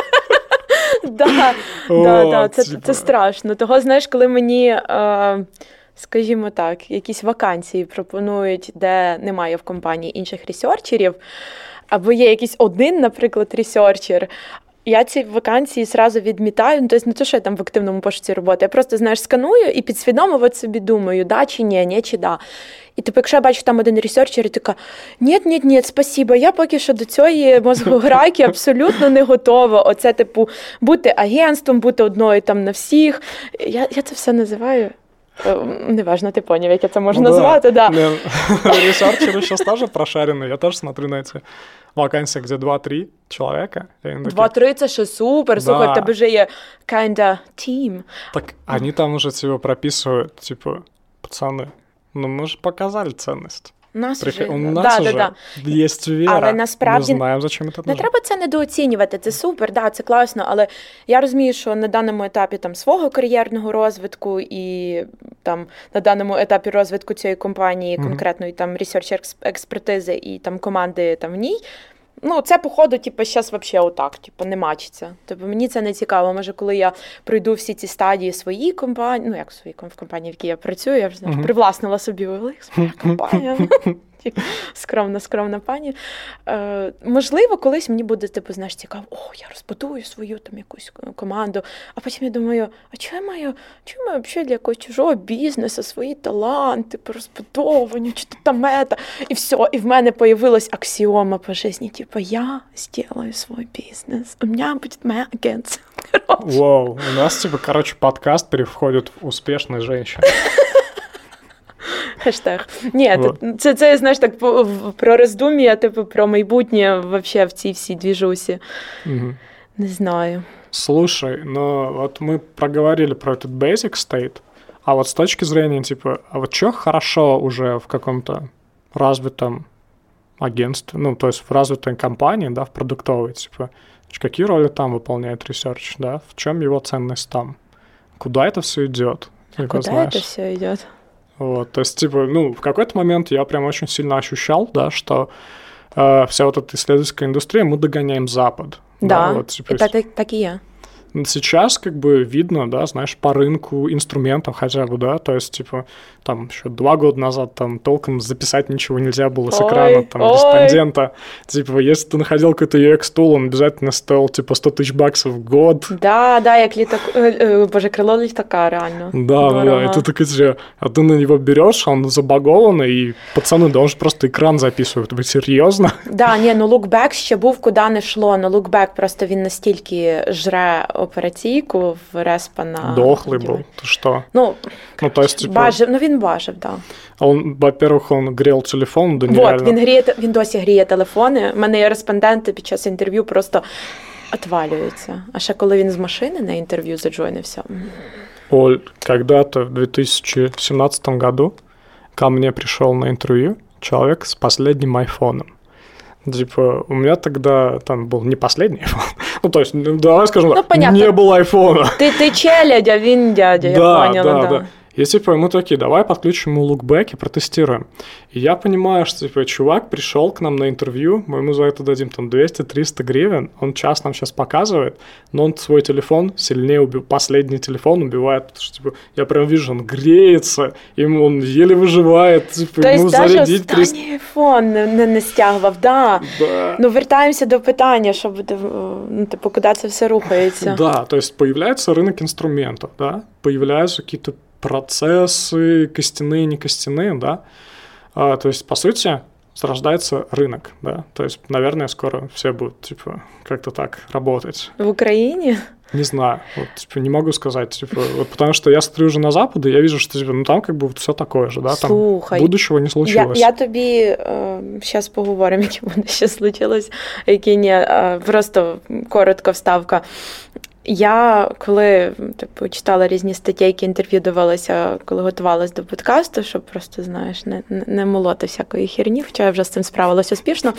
Да, це страшно. Того, знаєш, коли мені, скажімо так, якісь вакансії пропонують, де немає в компанії інших ресерчерів, або є якийсь один, наприклад, ресерчер, я ці вакансії зразу відмітаю, ну, тобто не те, що я там в активному пошуці роботи, я просто, знаєш, сканую і підсвідомо от собі думаю, да чи ні чи да. І типу, якщо я бачу там один ресерчер, і така, ні, спасибо, я поки що до цієї мозгограйки абсолютно не готова. Оце, типу, бути агентством, бути одною там на всіх. Я це все називаю Неважно, ты понял, як я це можу назвати, да. Ресерчеры сейчас тоже прошарены, я тоже смотрю на эти вакансии, где 2-3 человека. 2-3 це ще супер, слухай, в тебе вже є kinda team. Так они там уже типа прописывают, типа, пацаны, ну мы же показали ценность. У нас уже є віра, але насправді, ми знаємо, за чим це не треба це недооцінювати, це супер, да, це класно, але я розумію, що на даному етапі там свого кар'єрного розвитку і там на даному етапі розвитку цієї компанії, конкретної там research експертизи і там команди там в ній, ну, це, походу, типу, зараз взагалі отак, типу, не мачиться. Тобто мені це не цікаво. Може, коли я пройду всі ці стадії своїй компанії, ну, як в компанії, в якій я працюю, я вже, знаєш, привласнила собі своя компанія. Скромна пані. Можливо, колись мені буде, типу, знаєш, цікаво, я розбудую свою там якусь команду, а потім я думаю, а чого я маю взагалі для якогось чужого бізнесу свої таланти по розбудовуванню, чи то там мета, і все, і в мене появилась аксіома по житті, типу, я сделаю свой бизнес, у меня будет моя агентство. Вау, у нас, типа, подкаст переходит в успешных женщин. Хештег. Ні, це, знаєш, так про роздум'я, типу, про майбутнє вообще в цій всій двіжусі. Не знаю. Слушай, ну вот мы проговорили про этот basic state, а вот с точки зрения, типа, а вот что хорошо уже в каком-то развитом агентстве, ну, то есть в развитой компании, да, в продуктовой, типа, какие роли там выполняет research, да, в чем его ценность там? Куда это все идет? Куда это все идет? Вот, то есть, типа, ну, в какой-то момент я прям очень сильно ощущал, да, что вся вот эта исследовательская индустрия, мы догоняем Запад. Да, вот, типа, так и я. Сейчас как бы видно, да, знаешь, по рынку инструментов хотя бы, да, то есть, типа, там еще 2 года назад там толком записать ничего нельзя было с экрана, там, респондента. Типа, если ты находил какой-то UX-тул, он обязательно стоил, типа, $100 000 в год. Да, як боже, крыло літака, реально. Да, и ты такой, а ты на него берешь, он забагованный, и пацаны, да он же просто экран записывают, вы серьезно? Да, ну Lookback ще був, куди не йшло, но Lookback просто він настільки жре операційку в респа на... Дохлый был, ты что? Ну то есть, типа... Бажив, він бажив, да. А он, во-первых, он грел телефон до нереального. Вот, він досі гріє телефони. У мене є респонденти під час інтерв'ю просто отвалюються. А ще коли він з машини на інтерв'ю заджойнився. Оль, когда-то в 2017 году ко мне пришел на интервью человек с последним айфоном. Типа, у меня тогда там был не последний iPhone. Ну, то есть, давай скажем, не было айфона. Ты челядь, а він дядя, я поняла, да. И типа мы такие, давай подключим ему лукбэк и протестируем. И я понимаю, что типа чувак пришел к нам на интервью, мы ему за это дадим там 200-300 гривен, он час нам сейчас показывает, но он свой телефон сильнее убил, последний телефон убивает, потому что типа я прям вижу, он греется, ему он еле выживает, типа, ему зарядить. То есть даже айфон не стягував, да. Ну вертаємося до питання, що буде, ну типу, куди це все рухається. Да, то есть появляется рынок инструментов, да, появляются какие-то процессы, костяные, не костяные, да. То есть, по сути, зарождается рынок, да. То есть, наверное, скоро все будут, типа, как-то так работать. В Украине? Не знаю, вот, типа, не могу сказать, типа, вот потому что я смотрю уже на Запад, и я вижу, что, типа, ну, там как бы вот все такое же, да, Слухай, там будущего не случилось. Я тобі, зараз поговоримо, яке буде ще случилось, яке ні, просто коротко вставка. Я, коли типу, читала різні статейки, інтерв'ю дивилася, коли готувалася до подкасту, щоб просто, знаєш, не молоти всякої херні, хоча я вже з цим справилася успішно,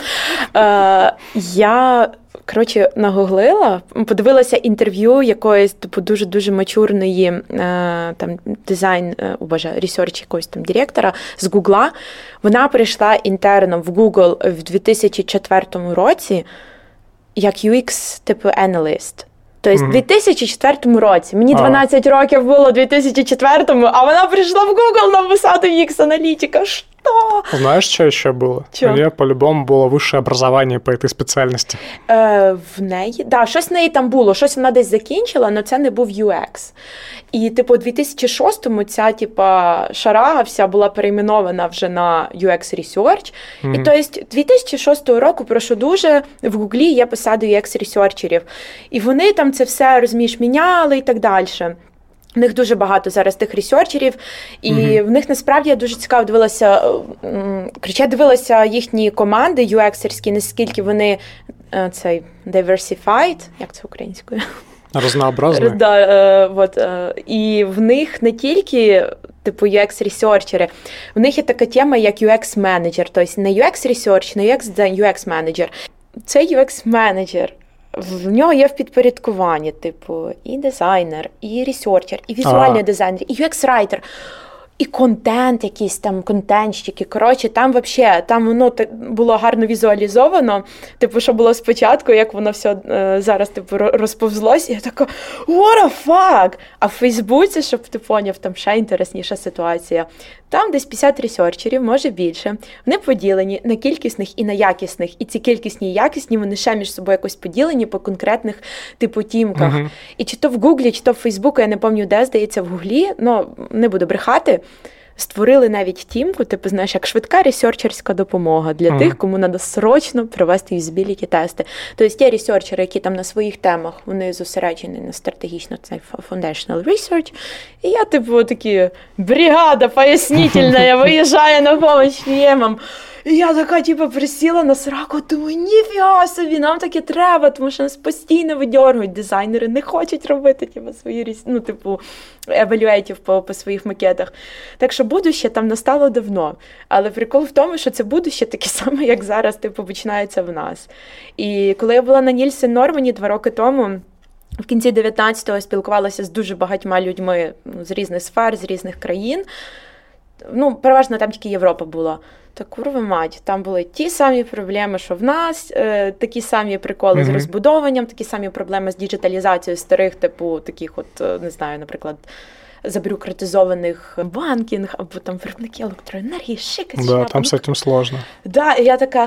я, коротше, нагуглила, подивилася інтерв'ю якоїсь, типу, дуже-дуже мачурної там, ресерч якогось там директора з Гугла. Вона прийшла інтерном в Google в 2004 році як UX, типу, analyst. Тобто в 2004 році. Мені 12 років було в 2004-му, а вона прийшла в Google на посаду UX-аналитика. Что? Знаешь, что еще было? У нее по-любому было высшее образование по этой специальности. В неї? Да, щось в неї там було. Щось вона десь закінчила, але це не був UX. І, типу, у 2006-му ця, типа, шарага вся була перейменована вже на UX Research. І, тобто, 2006 року, прошу дуже, в Гуглі є посади UX-ресерчерів. І вони там це все, розумієш, міняли і так далі. В них дуже багато зараз тих ресерчерів, і в них насправді я дуже цікаво дивилася їхні команди UX-ерські, наскільки вони цей diversified, як це українською? Разнообразні. І в них не тільки типу UX-ресерчери, в них є така тема, як UX-менеджер, тобто не UX-ресерч, не UX-менеджер. Цей UX-менеджер, в нього є в підпорядкуванні, типу, і дизайнер, і ресерчер, і візуальний дизайнер, і UX-райтер, і контент якийсь там, контентщики. Коротше, там взагалі, там воно було гарно візуалізовано, типу, що було спочатку, як воно все зараз, типу, розповзлось, і я така, what the fuck? А в Фейсбуці, щоб ти поняв, там ще інтересніша ситуація. Там десь 50 ресерчерів, може більше. Вони поділені на кількісних і на якісних. І ці кількісні і якісні, вони ще між собою якось поділені по конкретних, типу, тімках. І чи то в Гуглі, чи то в Фейсбуку, я не пам'ятаю, де, здається, в Гуглі, не буду брехати, створили навіть тімку, типу, знаєш, як швидка ресерчерська допомога для тих, кому треба срочно провести юзабіліті-тести. Тобто є ресерчери, які там на своїх темах, вони зосереджені на стратегічно, це foundational research. І я, типу, такі, бригада пояснительна, виїжджає на помощь ємам. І я така, типу, присіла на сраку, думаю, ніфіга собі, нам таке треба, тому що нас постійно видьоргують, дизайнери не хочуть робити, типу, свої, евалюейтів по своїх макетах. Так що будуще там настало давно. Але прикол в тому, що це будуще таке саме, як зараз, типу, починається в нас. І коли я була на Нільсен Нормані 2 роки тому, в кінці 19-го спілкувалася з дуже багатьма людьми з різних сфер, з різних країн. Переважно там тільки Європа була. Та курва мать, там були ті самі проблеми, що в нас, такі самі приколи з розбудовуванням, такі самі проблеми з діджиталізацією старих, типу, таких от, не знаю, наприклад, забюрократизованих банкінг, або там виробники електроенергії, шикать. Да, там з цим сложно. Да, і я така,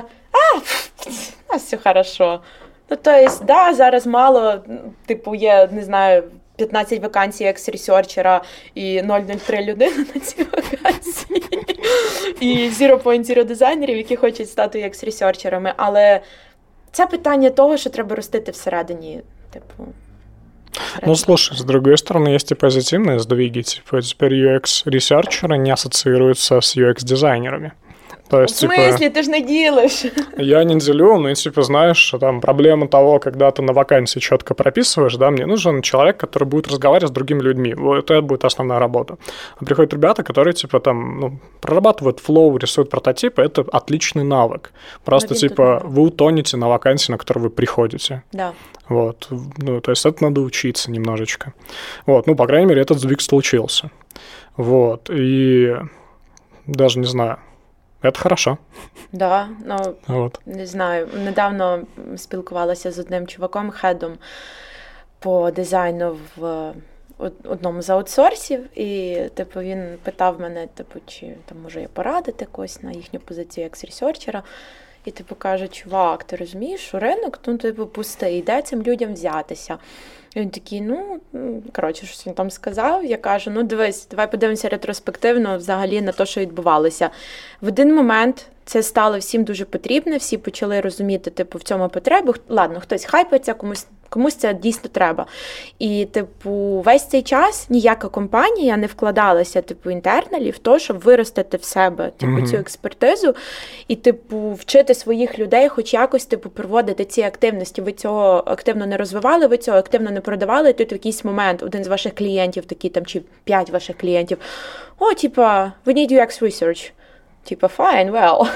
у нас все хорошо. Тобто, да, зараз мало, типу, є, не знаю, 15 вакансій екс-ресерчера і 0,03 людини на ці вакансії. І 0.0 дизайнерів, які хочуть стати екс-ресерчерами. Але це питання того, що треба ростити всередині, типу... Слушай, с другой стороны, есть и позитивные сдвиги. Типа, теперь UX-ресерчеры не ассоциируются с UX-дизайнерами. То есть, в смысле? Ты же не делаешь. Я не делю, но, типа, знаешь, там проблема того, когда ты на вакансии четко прописываешь, да, мне нужен человек, который будет разговаривать с другими людьми. Вот это будет основная работа. А приходят ребята, которые, типа, там, прорабатывают флоу, рисуют прототипы, это отличный навык. Просто, типа, вы утонете на вакансии, на которую вы приходите. Да. Вот, то есть это надо учиться немножечко. Вот, по крайней мере, этот сдвиг случился. Вот, и даже не знаю, це хорошо. Да, не знаю, недавно спілкувалася з одним чуваком, хедом по дизайну в одному з аутсорсів, і, типу, він питав мене, типу, чи там можу я порадити когось на їхню позицію екс-ресерчера. І, типу, каже, чувак, ти розумієш, що ринок, типу, пустий, де цим людям взятися? І він такий, щось він там сказав. Я кажу, дивись, давай подивимося ретроспективно взагалі на те, що відбувалося. В один момент це стало всім дуже потрібне, всі почали розуміти, типу, в цьому потребу. Ладно, хтось хайпається, комусь це дійсно треба. І, типу, весь цей час ніяка компанія не вкладалася, типу, інтерналі в те, щоб виростити в себе, типу, цю експертизу і, типу, вчити своїх людей хоч якось, типу, проводити ці активності. Ви цього активно не розвивали, ви цього активно не продавали, і тут в якийсь момент один з ваших клієнтів, такий там, чи 5 ваших клієнтів, типа, we need UX research. Типа, fine, well.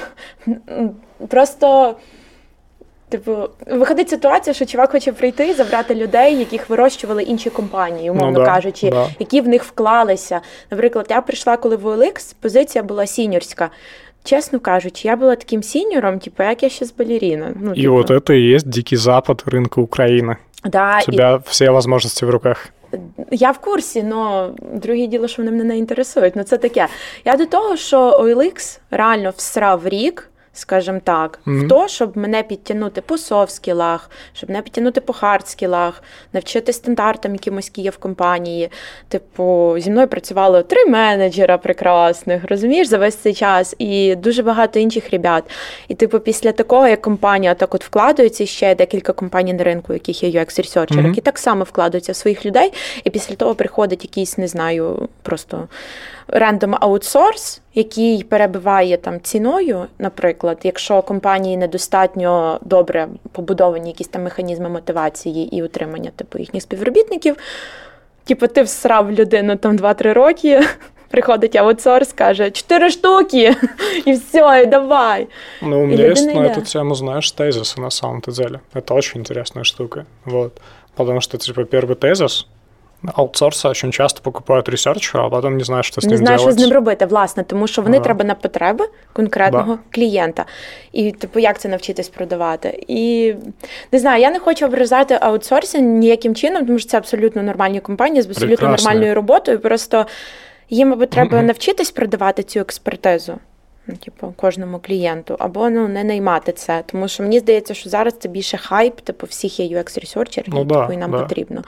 Просто, типу, виходить ситуація, що чувак хоче прийти і забрати людей, яких вирощували інші компанії, умовно кажучи, які в них вклалися. Наприклад, я прийшла, коли в OLX, позиція була сіньорська. Чесно кажучи, я була таким сіньором, типу, як я ще з балерина. І от це і є дикий запад ринку України. Да, у тебе всі можливості в руках. Я в курсі, але друге діло, що вони мене не інтересують. Це таке. Я до того, що OLX реально всрав рік скажімо так, в то, щоб мене підтягнути по софт-скілах, щоб мене підтягнути по хард-скілах, навчити стандартам якимось, які є в компанії. Типу, зі мною працювало 3 менеджера прекрасних, розумієш, за весь цей час, і дуже багато інших ребят. І, типу, після такого, як компанія так от вкладається, ще декілька компаній на ринку, яких є UX-ресерчери, які так само вкладаються в своїх людей, і після того приходить якийсь, не знаю, просто рандом аутсорс, який перебиває там ціною, наприклад, якщо компанії недостатньо добре побудовані якісь там механізми мотивації і утримання типу їхніх співробітників, типу ти всрав людину там 2-3 роки, приходить аутсорс, каже 4 штуки, и все, и давай. Ну, у меня есть на эту тему, знаешь, тезисы на самом-то деле. Это очень интересная штука. Вот. Потому что, типа, первый тезис — аутсорси очень часто покупають ресерчера, а потім не знають, що з ним робити. Не знають, що з ним робити, власне, тому що вони треба на потреби конкретного клієнта. І, типу, як це навчитись продавати? І, не знаю, я не хочу ображати аутсорсинг ніяким чином, тому що це абсолютно нормальні компанії з абсолютно нормальною роботою, просто їм, мабуть, треба навчитись продавати цю експертизу. Типу, кожному клієнту, або не наймати це. Тому що мені здається, що зараз це більше хайп, типу, всіх є UX-ресерчерів, і нам потрібно.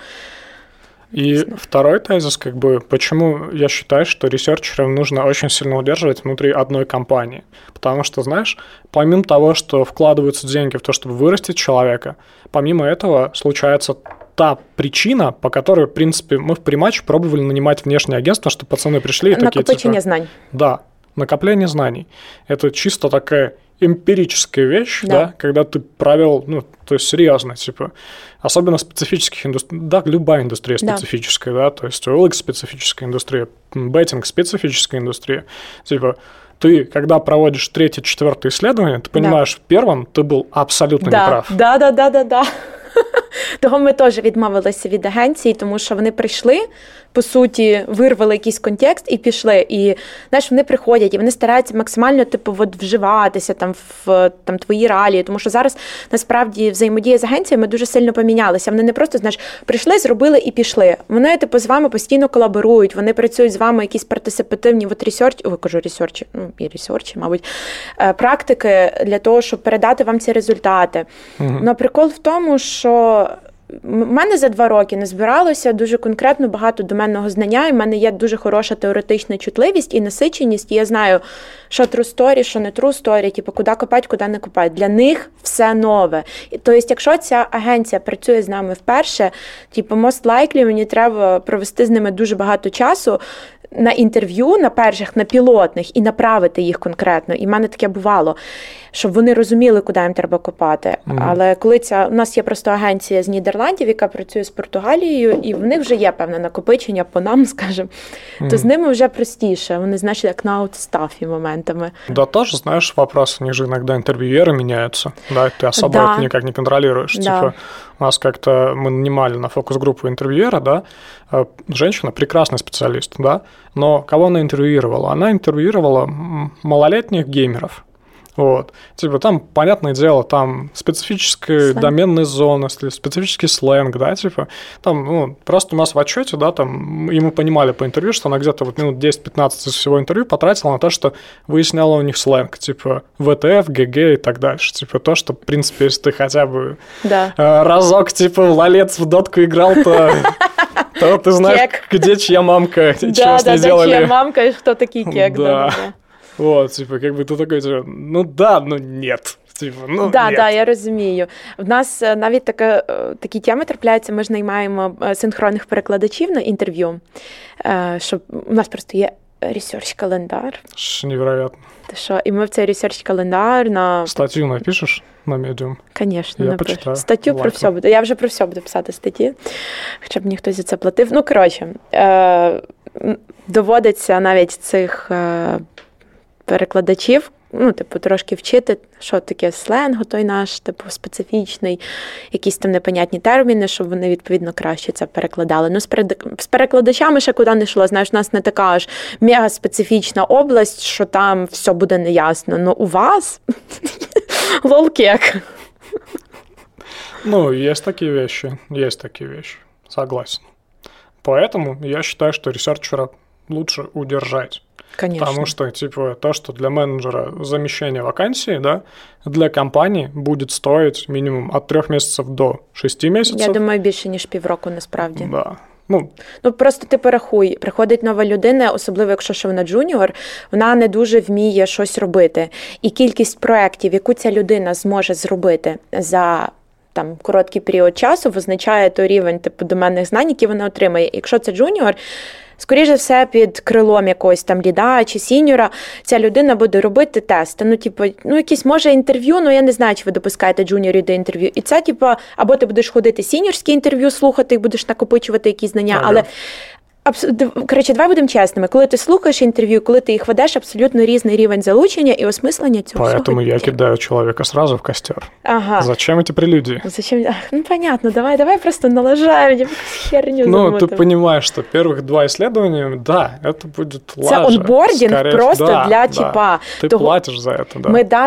И второй тезис, как бы, почему я считаю, что ресерчеров нужно очень сильно удерживать внутри одной компании. Потому что, знаешь, помимо того, что вкладываются деньги в то, чтобы вырастить человека, помимо этого случается та причина, по которой, в принципе, мы в Приматч пробовали нанимать внешнее агентство, чтобы пацаны пришли и такие, типа... Накопичение знаний. Да, накопление знаний. Это чисто такая эмпирическая вещь, да, когда ты провел, ну, то есть серьезно, типа, особенно специфических индустрий, да, любая индустрия специфическая, да, то есть OLX специфическая индустрия, беттинг специфическая индустрия, типа, ты, когда проводишь 3-4 исследование, ты понимаешь, в первом ты был абсолютно неправ. Да. Того ми теж відмовилися від агенції, тому що вони прийшли, по суті, вирвали якийсь контекст і пішли. І, знаєш, вони приходять, і вони стараються максимально, типу, от вживатися там в там, твої реалії, тому що зараз, насправді, взаємодія з агенціями дуже сильно помінялася. Вони не просто, знаєш, прийшли, зробили і пішли. Вони, типу, з вами постійно колаборують, вони працюють з вами якісь партисипативні ресерчі, мабуть, практики для того, щоб передати вам ці результати. Но прикол в тому, що в мене за 2 роки не збиралося дуже конкретно багато доменного знання, і в мене є дуже хороша теоретична чутливість і насиченість, і я знаю, що true story, що не true story, типу, куди копати, куди не копати. Для них все нове. Тобто, якщо ця агенція працює з нами вперше, типу, most likely мені треба провести з ними дуже багато часу на інтерв'ю, на перших, на пілотних, і направити їх конкретно. І в мене таке бувало, щоб вони розуміли, куди їм треба копати. Але коли у нас є просто агенція з Нідерландів, яка працює з Португалією, і в них вже є певне накопичення по нам, скажімо, то з ними вже простіше. Вони, знаєш, як на аутстафі моментами. Да, тоже, знаешь, вопрос, у них же иногда интервьюеры меняются, да, ты особо это никак не контролируешь. Да. Типа, у нас как-то мы нанимали на фокус-группу интервьюера, да, женщина прекрасный специалист, да, но кого она интервьюировала? Она интервьюировала малолетних геймеров. Вот. Типа там, понятное дело, там специфическая доменная зона, специфический сленг, да, типа, там, ну, просто у нас в отчете, да, там, и мы понимали по интервью, что она где-то вот минут 10-15 из всего интервью потратила на то, что выясняла у них сленг, типа, ВТФ, ГГ и так дальше, типа, то, что, в принципе, если ты хотя бы разок, типа, в лолец в дотку играл, то ты знаешь, где чья мамка, что с ней делали. Да, чья мамка и кто такие кек, да. Вот, типа, как бы ты такой, типа, ну да, ну нет. Типу, ну, да, я розумію. В нас навіть такі теми трапляються, ми ж наймаємо синхронних перекладачів на інтерв'ю, щоб у нас просто є ресерч-календар. Невероятно. Що, і ми в цей ресерч-календар на... Статтю напишеш на Medium? Звісно, напишу. Статтю про все буду. Я вже про все буду писати статті, хоча б ніхто за це платив. Ну, коротше, доводиться навіть цих перекладачів, ну, типу, трошки вчити, що таке сленг, той наш, типу, специфічний, якісь там непонятні терміни, щоб вони, відповідно, краще це перекладали. Ну, з перекладачами ще куди не йшло. Знаєш, у нас не така аж мега-специфічна область, що там все буде неясно. Ну, у вас лол-кек. Ну, есть такие вещи, согласен. Поэтому я считаю, что ресерчера лучше удержать. Конечно. Потому что, типа, то, что для менеджера замещение вакансии, да, для компании будет стоить минимум от 3 месяцев до 6 месяців. Я думаю, більше, ніж півроку, насправді. Да. Ну, просто ти порахуй, приходить нова людина, особливо якщо що вона джуніор, вона не дуже вміє щось робити. І кількість проєктів, яку ця людина зможе зробити за там короткий період часу, визначає той рівень типу доменних знань, які вона отримає. Якщо це джуніор, скоріше за все, під крилом якогось там ліда чи сіньора ця людина буде робити тести. Якісь, може, інтерв'ю, я не знаю, чи ви допускаєте джуніорів до інтерв'ю. І це, або ти будеш ходити сіньорські інтерв'ю, слухати, і будеш накопичувати якісь знання, але... Коротше, давай будемо чесними. Коли ти слухаєш інтерв'ю, коли ти їх ведеш, абсолютно різний рівень залучення і осмислення цього всього. Поэтому я кидаю человека сразу в костер. Ага. Зачем эти прелюдии? Зачем? Понятно, давай просто налажаем херню. Ты понимаешь, что первых 2 исследования, да, это будет лажа. Це онбордінг просто для типа. Ти платиш за це,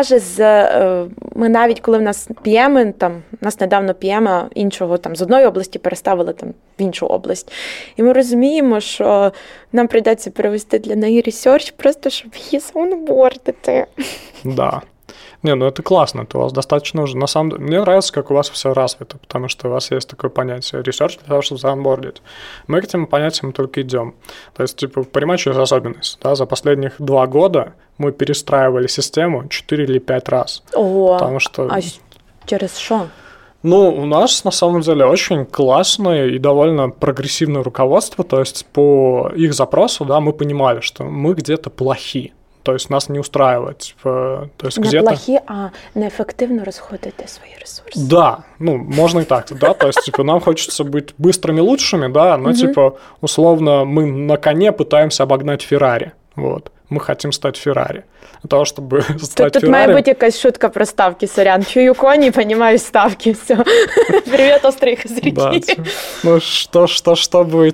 да. Ми навіть, коли в нас PM, нас недавно PM іншого, з одної області переставили в іншу область. І ми розуміємо, що нам прийдеться перевести для неї ресерч, просто щоб її заонбордити. Да. Это классно, это у вас достаточно уже. На самом деле, мне нравится, как у вас все развито, потому что у вас есть такое понятие ресерч для того, чтобы заонбордить. Мы к этим понятиям только идем. То есть, понимать, что есть особенность. Да? За последних 2 года мы перестраивали систему 4 или 5 раз. Ого, потому что... а через что? У нас, на самом деле, очень классное и довольно прогрессивное руководство, то есть по их запросу, да, мы понимали, что мы где-то плохи, то есть нас не устраивает. То есть не где-то... плохи, а неэффективно расходуете свои ресурсы. Да, можно и так, да, то есть, нам хочется быть быстрыми, лучшими, да, но, условно, мы на коне пытаемся обогнать Феррари, вот. Мы хотим стать Феррари. Для того, чтобы стать Тут Феррари... має бути якась шутка про ставки, сорян. Чую коні, понимаю ставки, все. Привет, острые козырьки. Да, чтобы,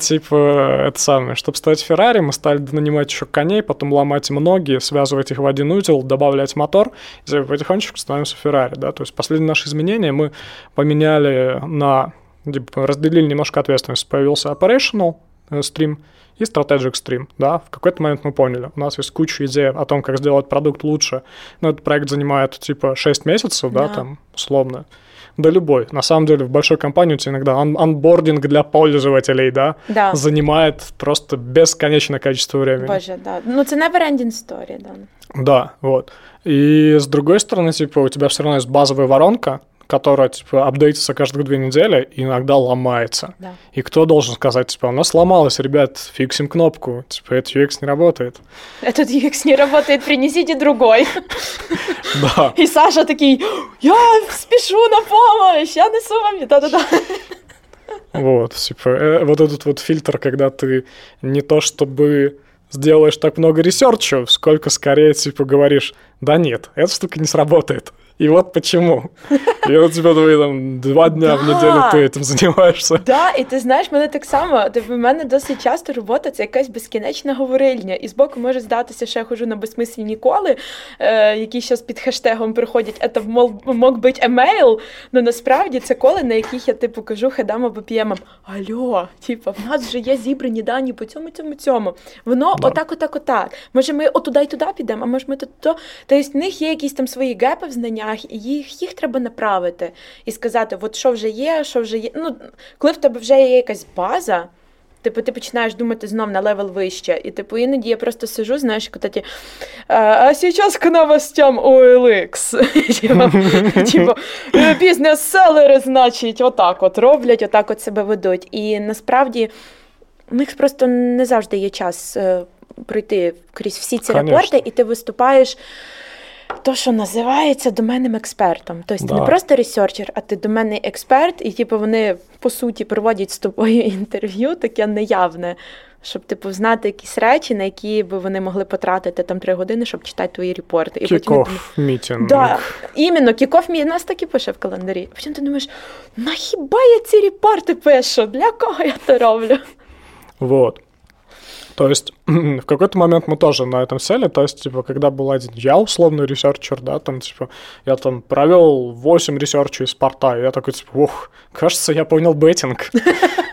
чтобы стать Феррари, мы стали нанимать еще коней, потом ломать им ноги, связывать их в один узел, добавлять мотор, и потихонечку становимся Феррари, да, то есть последние наши изменения мы поменяли разделили немножко ответственность. Появился Operational Stream и Strategic Stream, да, в какой-то момент мы поняли, у нас есть куча идей о том, как сделать продукт лучше, этот проект занимает, 6 месяцев, да, условно, да любой. На самом деле в большой компании у тебя иногда онбординг для пользователей, да, занимает просто бесконечное количество времени. Боже, да. Это never-ending story, да. Да, вот. И с другой стороны, у тебя все равно есть базовая воронка, которая, апдейтится каждые 2 недели и иногда ломается. Да. И кто должен сказать, у нас сломалось, ребят, фиксим кнопку, этот UX не работает. Этот UX не работает, принесите другой. Да. И Саша такой, я спешу на помощь, я несу вам, да-да-да. Вот, вот этот вот фильтр, когда ты не то чтобы сделаешь так много ресерча, сколько скорее, говоришь, да нет, эта штука не сработает. И вот почему. І от тебе 2 дня в неділю ти цим займаєшся. Да, і ти знаєш, мене так само, в мене досить часто робота – це якась безкінечна говорильня. І збоку може здатися, що я ходжу на безсмислені коли, які зараз під хештегом приходять, це мог бути емейл, але насправді це коли, на яких я кажу хедам або п'ємам, алло, в нас вже є зібрані дані по цьому. Воно отак. Може ми отуда й туди підемо, а може ми тут. Тобто в них є якісь там свої гепи в знаннях, і їх треба направити і сказати, от що вже є. Коли в тебе вже є якась база, ти починаєш думати знов на левел вище, і іноді я просто сижу, знаєш, а сейчас к новостям OLX. Бізнес-селери, значить, отак роблять, отак себе ведуть. І насправді у них просто не завжди є час пройти крізь всі ці рапорти, і ти виступаєш то, що називається доменним експертом. Тобто ти не просто ресерчер, а ти доменний експерт, і вони, по суті, проводять з тобою інтерв'ю, таке неявне, щоб знати якісь речі, на які би вони могли потратити 3 години, щоб читати твої репорти. Kick-off мітинг. Да, іменно, kick-off мітинг, нас так і пише в календарі. Потім ти думаєш, хіба я ці репорти пишу? Для кого я це роблю? Вот. То есть в какой-то момент мы тоже на этом сели, то есть, когда был один я условный ресерчер, да, я провел 8 ресерчей из порта, и я такой, кажется, я понял беттинг.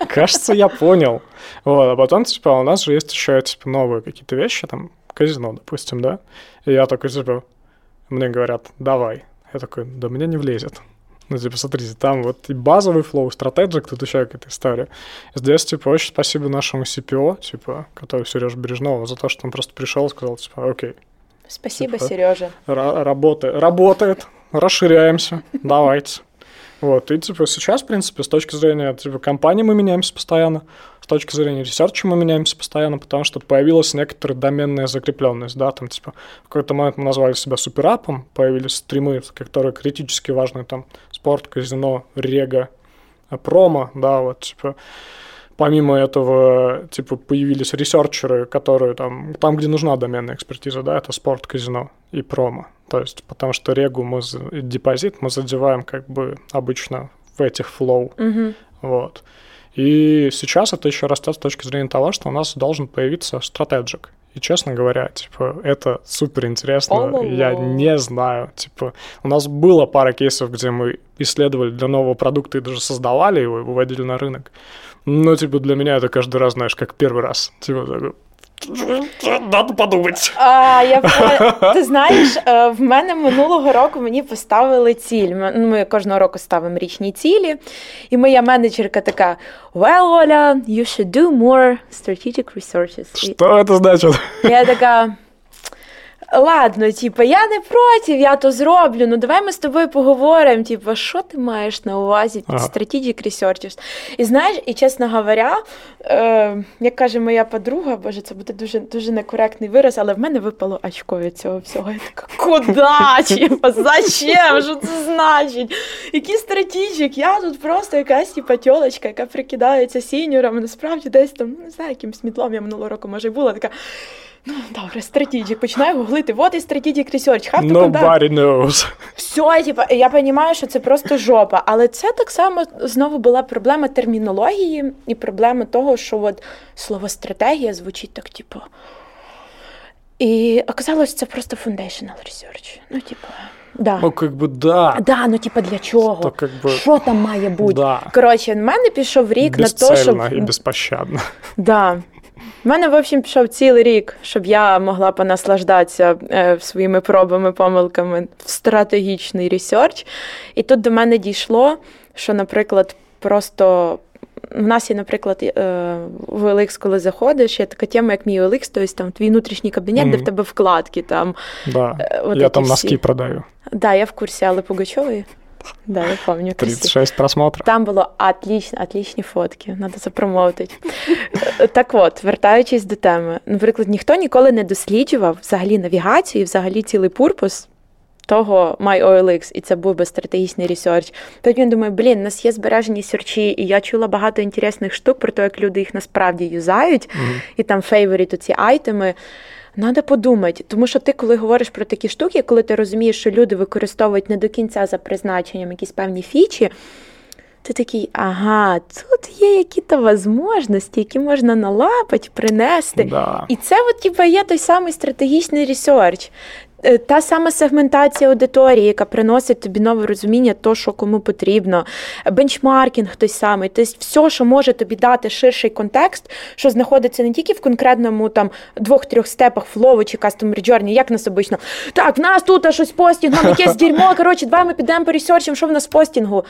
Кажется, я понял. Вот, а потом, типа, у нас же есть еще, типа, новые какие-то вещи, там, казино, допустим, да? И я такой, типа, мне говорят, давай. Я такой, да мне не влезет. Ну, типа, смотрите, там вот и базовый флоу, стратеджик, тут еще какая-то история. Здесь, типа, очень спасибо нашему CPO, типа, который Сережа Бережного, за то, что он просто пришел и сказал, типа, окей. Спасибо, типа, Сережа. Работает, расширяемся, давайте. Вот, и, типа, сейчас, в принципе, с точки зрения, типа, компании мы меняемся постоянно, с точки зрения ресерча мы меняемся постоянно, потому что появилась некоторая доменная закрепленность, да, там, типа, в какой-то момент мы назвали себя суперапом, появились стримы, которые критически важны, там, спорт, казино, рега, промо, да, вот, типа, помимо этого, типа, появились ресерчеры, которые там, где нужна доменная экспертиза, да, это спорт, казино и промо. То есть, потому что регу депозит мы задеваем как бы обычно в этих флоу. Вот. И сейчас это еще растет с точки зрения того, что у нас должен появиться стратеджик. И, честно говоря, типа, это супер интересно. Я не знаю. Типа, у нас было пара кейсов, где мы исследовали для нового продукта и даже создавали его и выводили на рынок. Но, типа, для меня это каждый раз, знаешь, как первый раз. Типа, такой, надо подумати. Ти знаєш, в мене минулого року мені поставили ціль. Ми кожного року ставимо річні цілі. І моя менеджерка така, well, Оля, you should do more strategic researches. Що це значить? Я така, ладно, типу, я не проти, я то зроблю, ну давай ми з тобою поговоримо, типу, що ти маєш на увазі під strategic researches. І знаєш, і чесно говоря, як каже моя подруга, боже, це буде дуже, дуже некоректний вираз, але в мене випало очко від цього всього. Я така, куди? Типу, зачем? Що це значить? Який strategic? Я тут просто якась, типу, тьолочка, яка прикидається сіньором, насправді десь там, не знаю, якимсь мідлом я минулого року, може, була така, ну, добре, strategic, починаю гуглити, вот і strategic research, have to conduct. Nobody knows. Все, типу, я розумію, що це просто жопа, але це так само знову була проблема термінології і проблема того, що от слово стратегія звучить так, типу, і оказалось, це просто foundational research, ну, типу, да. Ну, как бы, да. Да, ну, типа, для чого? То, как бы... Що там має бути? Да. Коротше, в мене пішов рік на те, щоб... Безцельно і безпощадно. Да. В мене, в общем, пішов цілий рік, щоб я могла понаслаждатися своїми пробами, помилками в стратегічний ресерч. І тут до мене дійшло, що, наприклад, просто... В нас є, наприклад, в OLX, коли заходиш, є така тема, як мій OLX, тобто там твій внутрішній кабінет, де в тебе вкладки. Там, да, я там носки всі. Продаю. Да, я в курсі Алли Пугачової. Да, я пам'ятаю. 36 просмотрів. Там було отличні фотки, треба запромовити. Так от, вертаючись до теми. Наприклад, ніхто ніколи не досліджував взагалі навігацію і взагалі цілий пурпос того MyOLX, і це був би стратегічний ресерч. Потім я думаю, у нас є збережені серчі, і я чула багато інтересних штук про те, як люди їх насправді юзають, і там фейворіт, ці айтеми. Надо подумати, тому що ти, коли говориш про такі штуки, коли ти розумієш, що люди використовують не до кінця за призначенням якісь певні фічі, ти такий, ага, тут є якісь можливості, які можна налапати, принести. Да. І це от, типу, є той самий стратегічний ресерч. Та сама сегментація аудиторії, яка приносить тобі нове розуміння того, що кому потрібно. Бенчмаркінг той самий. Тобто все, що може тобі дати ширший контекст, що знаходиться не тільки в конкретному там 2-3 степах флову чи customer journey, як нас обично. Так, в нас тут щось постінгом, якесь дерьмо, коротше, давай ми підемо поресерчимо, що в нас постінгу.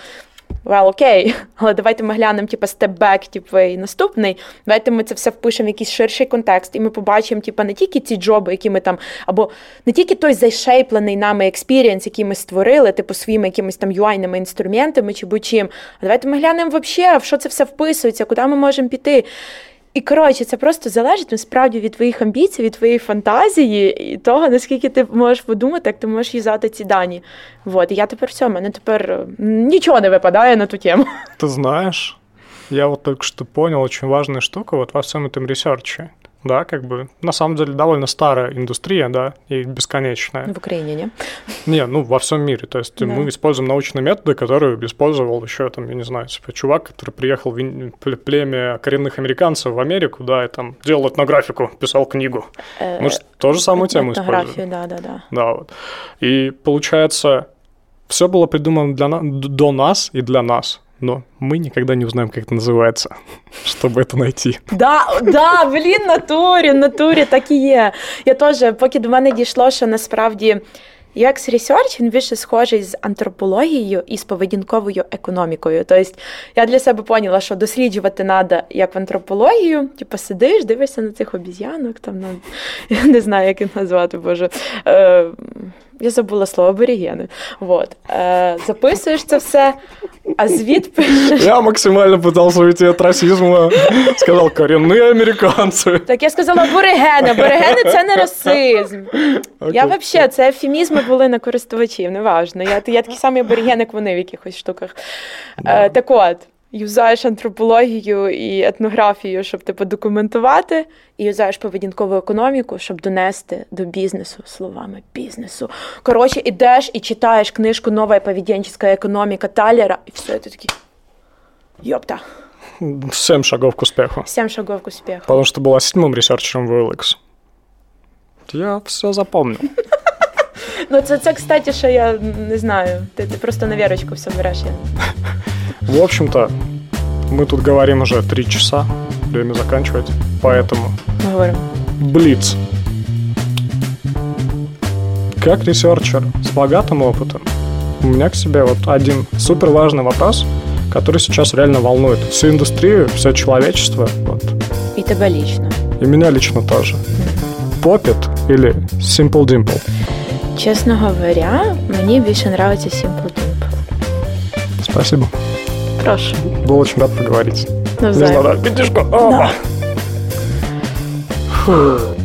Окей, але давайте ми глянемо, степ-бек, і наступний. Давайте ми це все впишемо в якийсь ширший контекст, і ми побачимо, не тільки ці джоби, які ми там, або не тільки той зайшейплений нами експірієнс, який ми створили, своїми якимись там UI-ними інструментами чи будь-чим. А давайте ми глянемо взагалі, в що це все вписується, куди ми можемо піти. І, коротше, це просто залежить, насправді, від твоїх амбіцій, від твоєї фантазії і того, наскільки ти можеш подумати, як ти можеш юзати ці дані. Вот. І я тепер все, мене тепер нічого не випадає на ту тему. Ты знаешь, я вот только что понял очень важную штуку вот во всем этом ресерче. Да, как бы, на самом деле, довольно старая индустрия, да, и бесконечная. В Украине, не? Не, ну, во всем мире. То есть мы используем научные методы, которые использовал еще, там, я не знаю, чувак, который приехал в племя коренных американцев в Америку, да, и там делал этнографику, писал книгу. Мы же ту же самую тему используем. Да. Да, вот. И, получается, все было придумано до нас и для нас. но мы никогда не узнаем, как это называется, чтобы это найти. Да, блін, натурі, так і є. Я теж, поки до мене дійшло, що насправді UX Research, він більше схожий з антропологією і з поведінковою економікою. Тобто я для себе поняла, що досліджувати треба як в антропологію, типу сидиш, дивишся на цих обіз'янок, там, я не знаю, як їх назвати, боже. Я забула слово аборігени. Вот. Записуєш це все, а звіт пишеш. Я максимально пытался уйти от расизма. Сказал, коренные американцы. Так я сказала аборигени. Аборигени – це не расизм. Okay. Я взагалі, це ефемізми були на користувачів, неважно. Я такий самий абориген, як вони в якихось штуках. Так от, юзаєш антропологію і етнографію, щоб документувати, і юзаєш поведінкову економіку, щоб донести до бізнесу словами бізнесу. Коротше, ідеш і читаєш книжку «Нова поведенческая економіка» Талера, і все, ти такий, ёпта. 7 шагов к успеху. 7 шагов к успеху. Потому что была 7-м ресерчером в OLX. Я все запомнил. Ну, це, кстати, що я не знаю. Ти просто на вірочку все береш. В общем-то, мы тут говорим уже 3 часа. Время заканчивать. Поэтому... Мы говорим. Блиц. Как ресерчер с богатым опытом, у меня к себе вот один супер важный вопрос, который сейчас реально волнует всю индустрию, все человечество. Вот. И тебя лично. И меня лично тоже. Popit или Simple Dimple? Честно говоря, мне больше нравится Simple Dimple. Спасибо. Прошу. Был очень рад поговорить. Навзаим. Не знаю, пятишку. Да. Фу.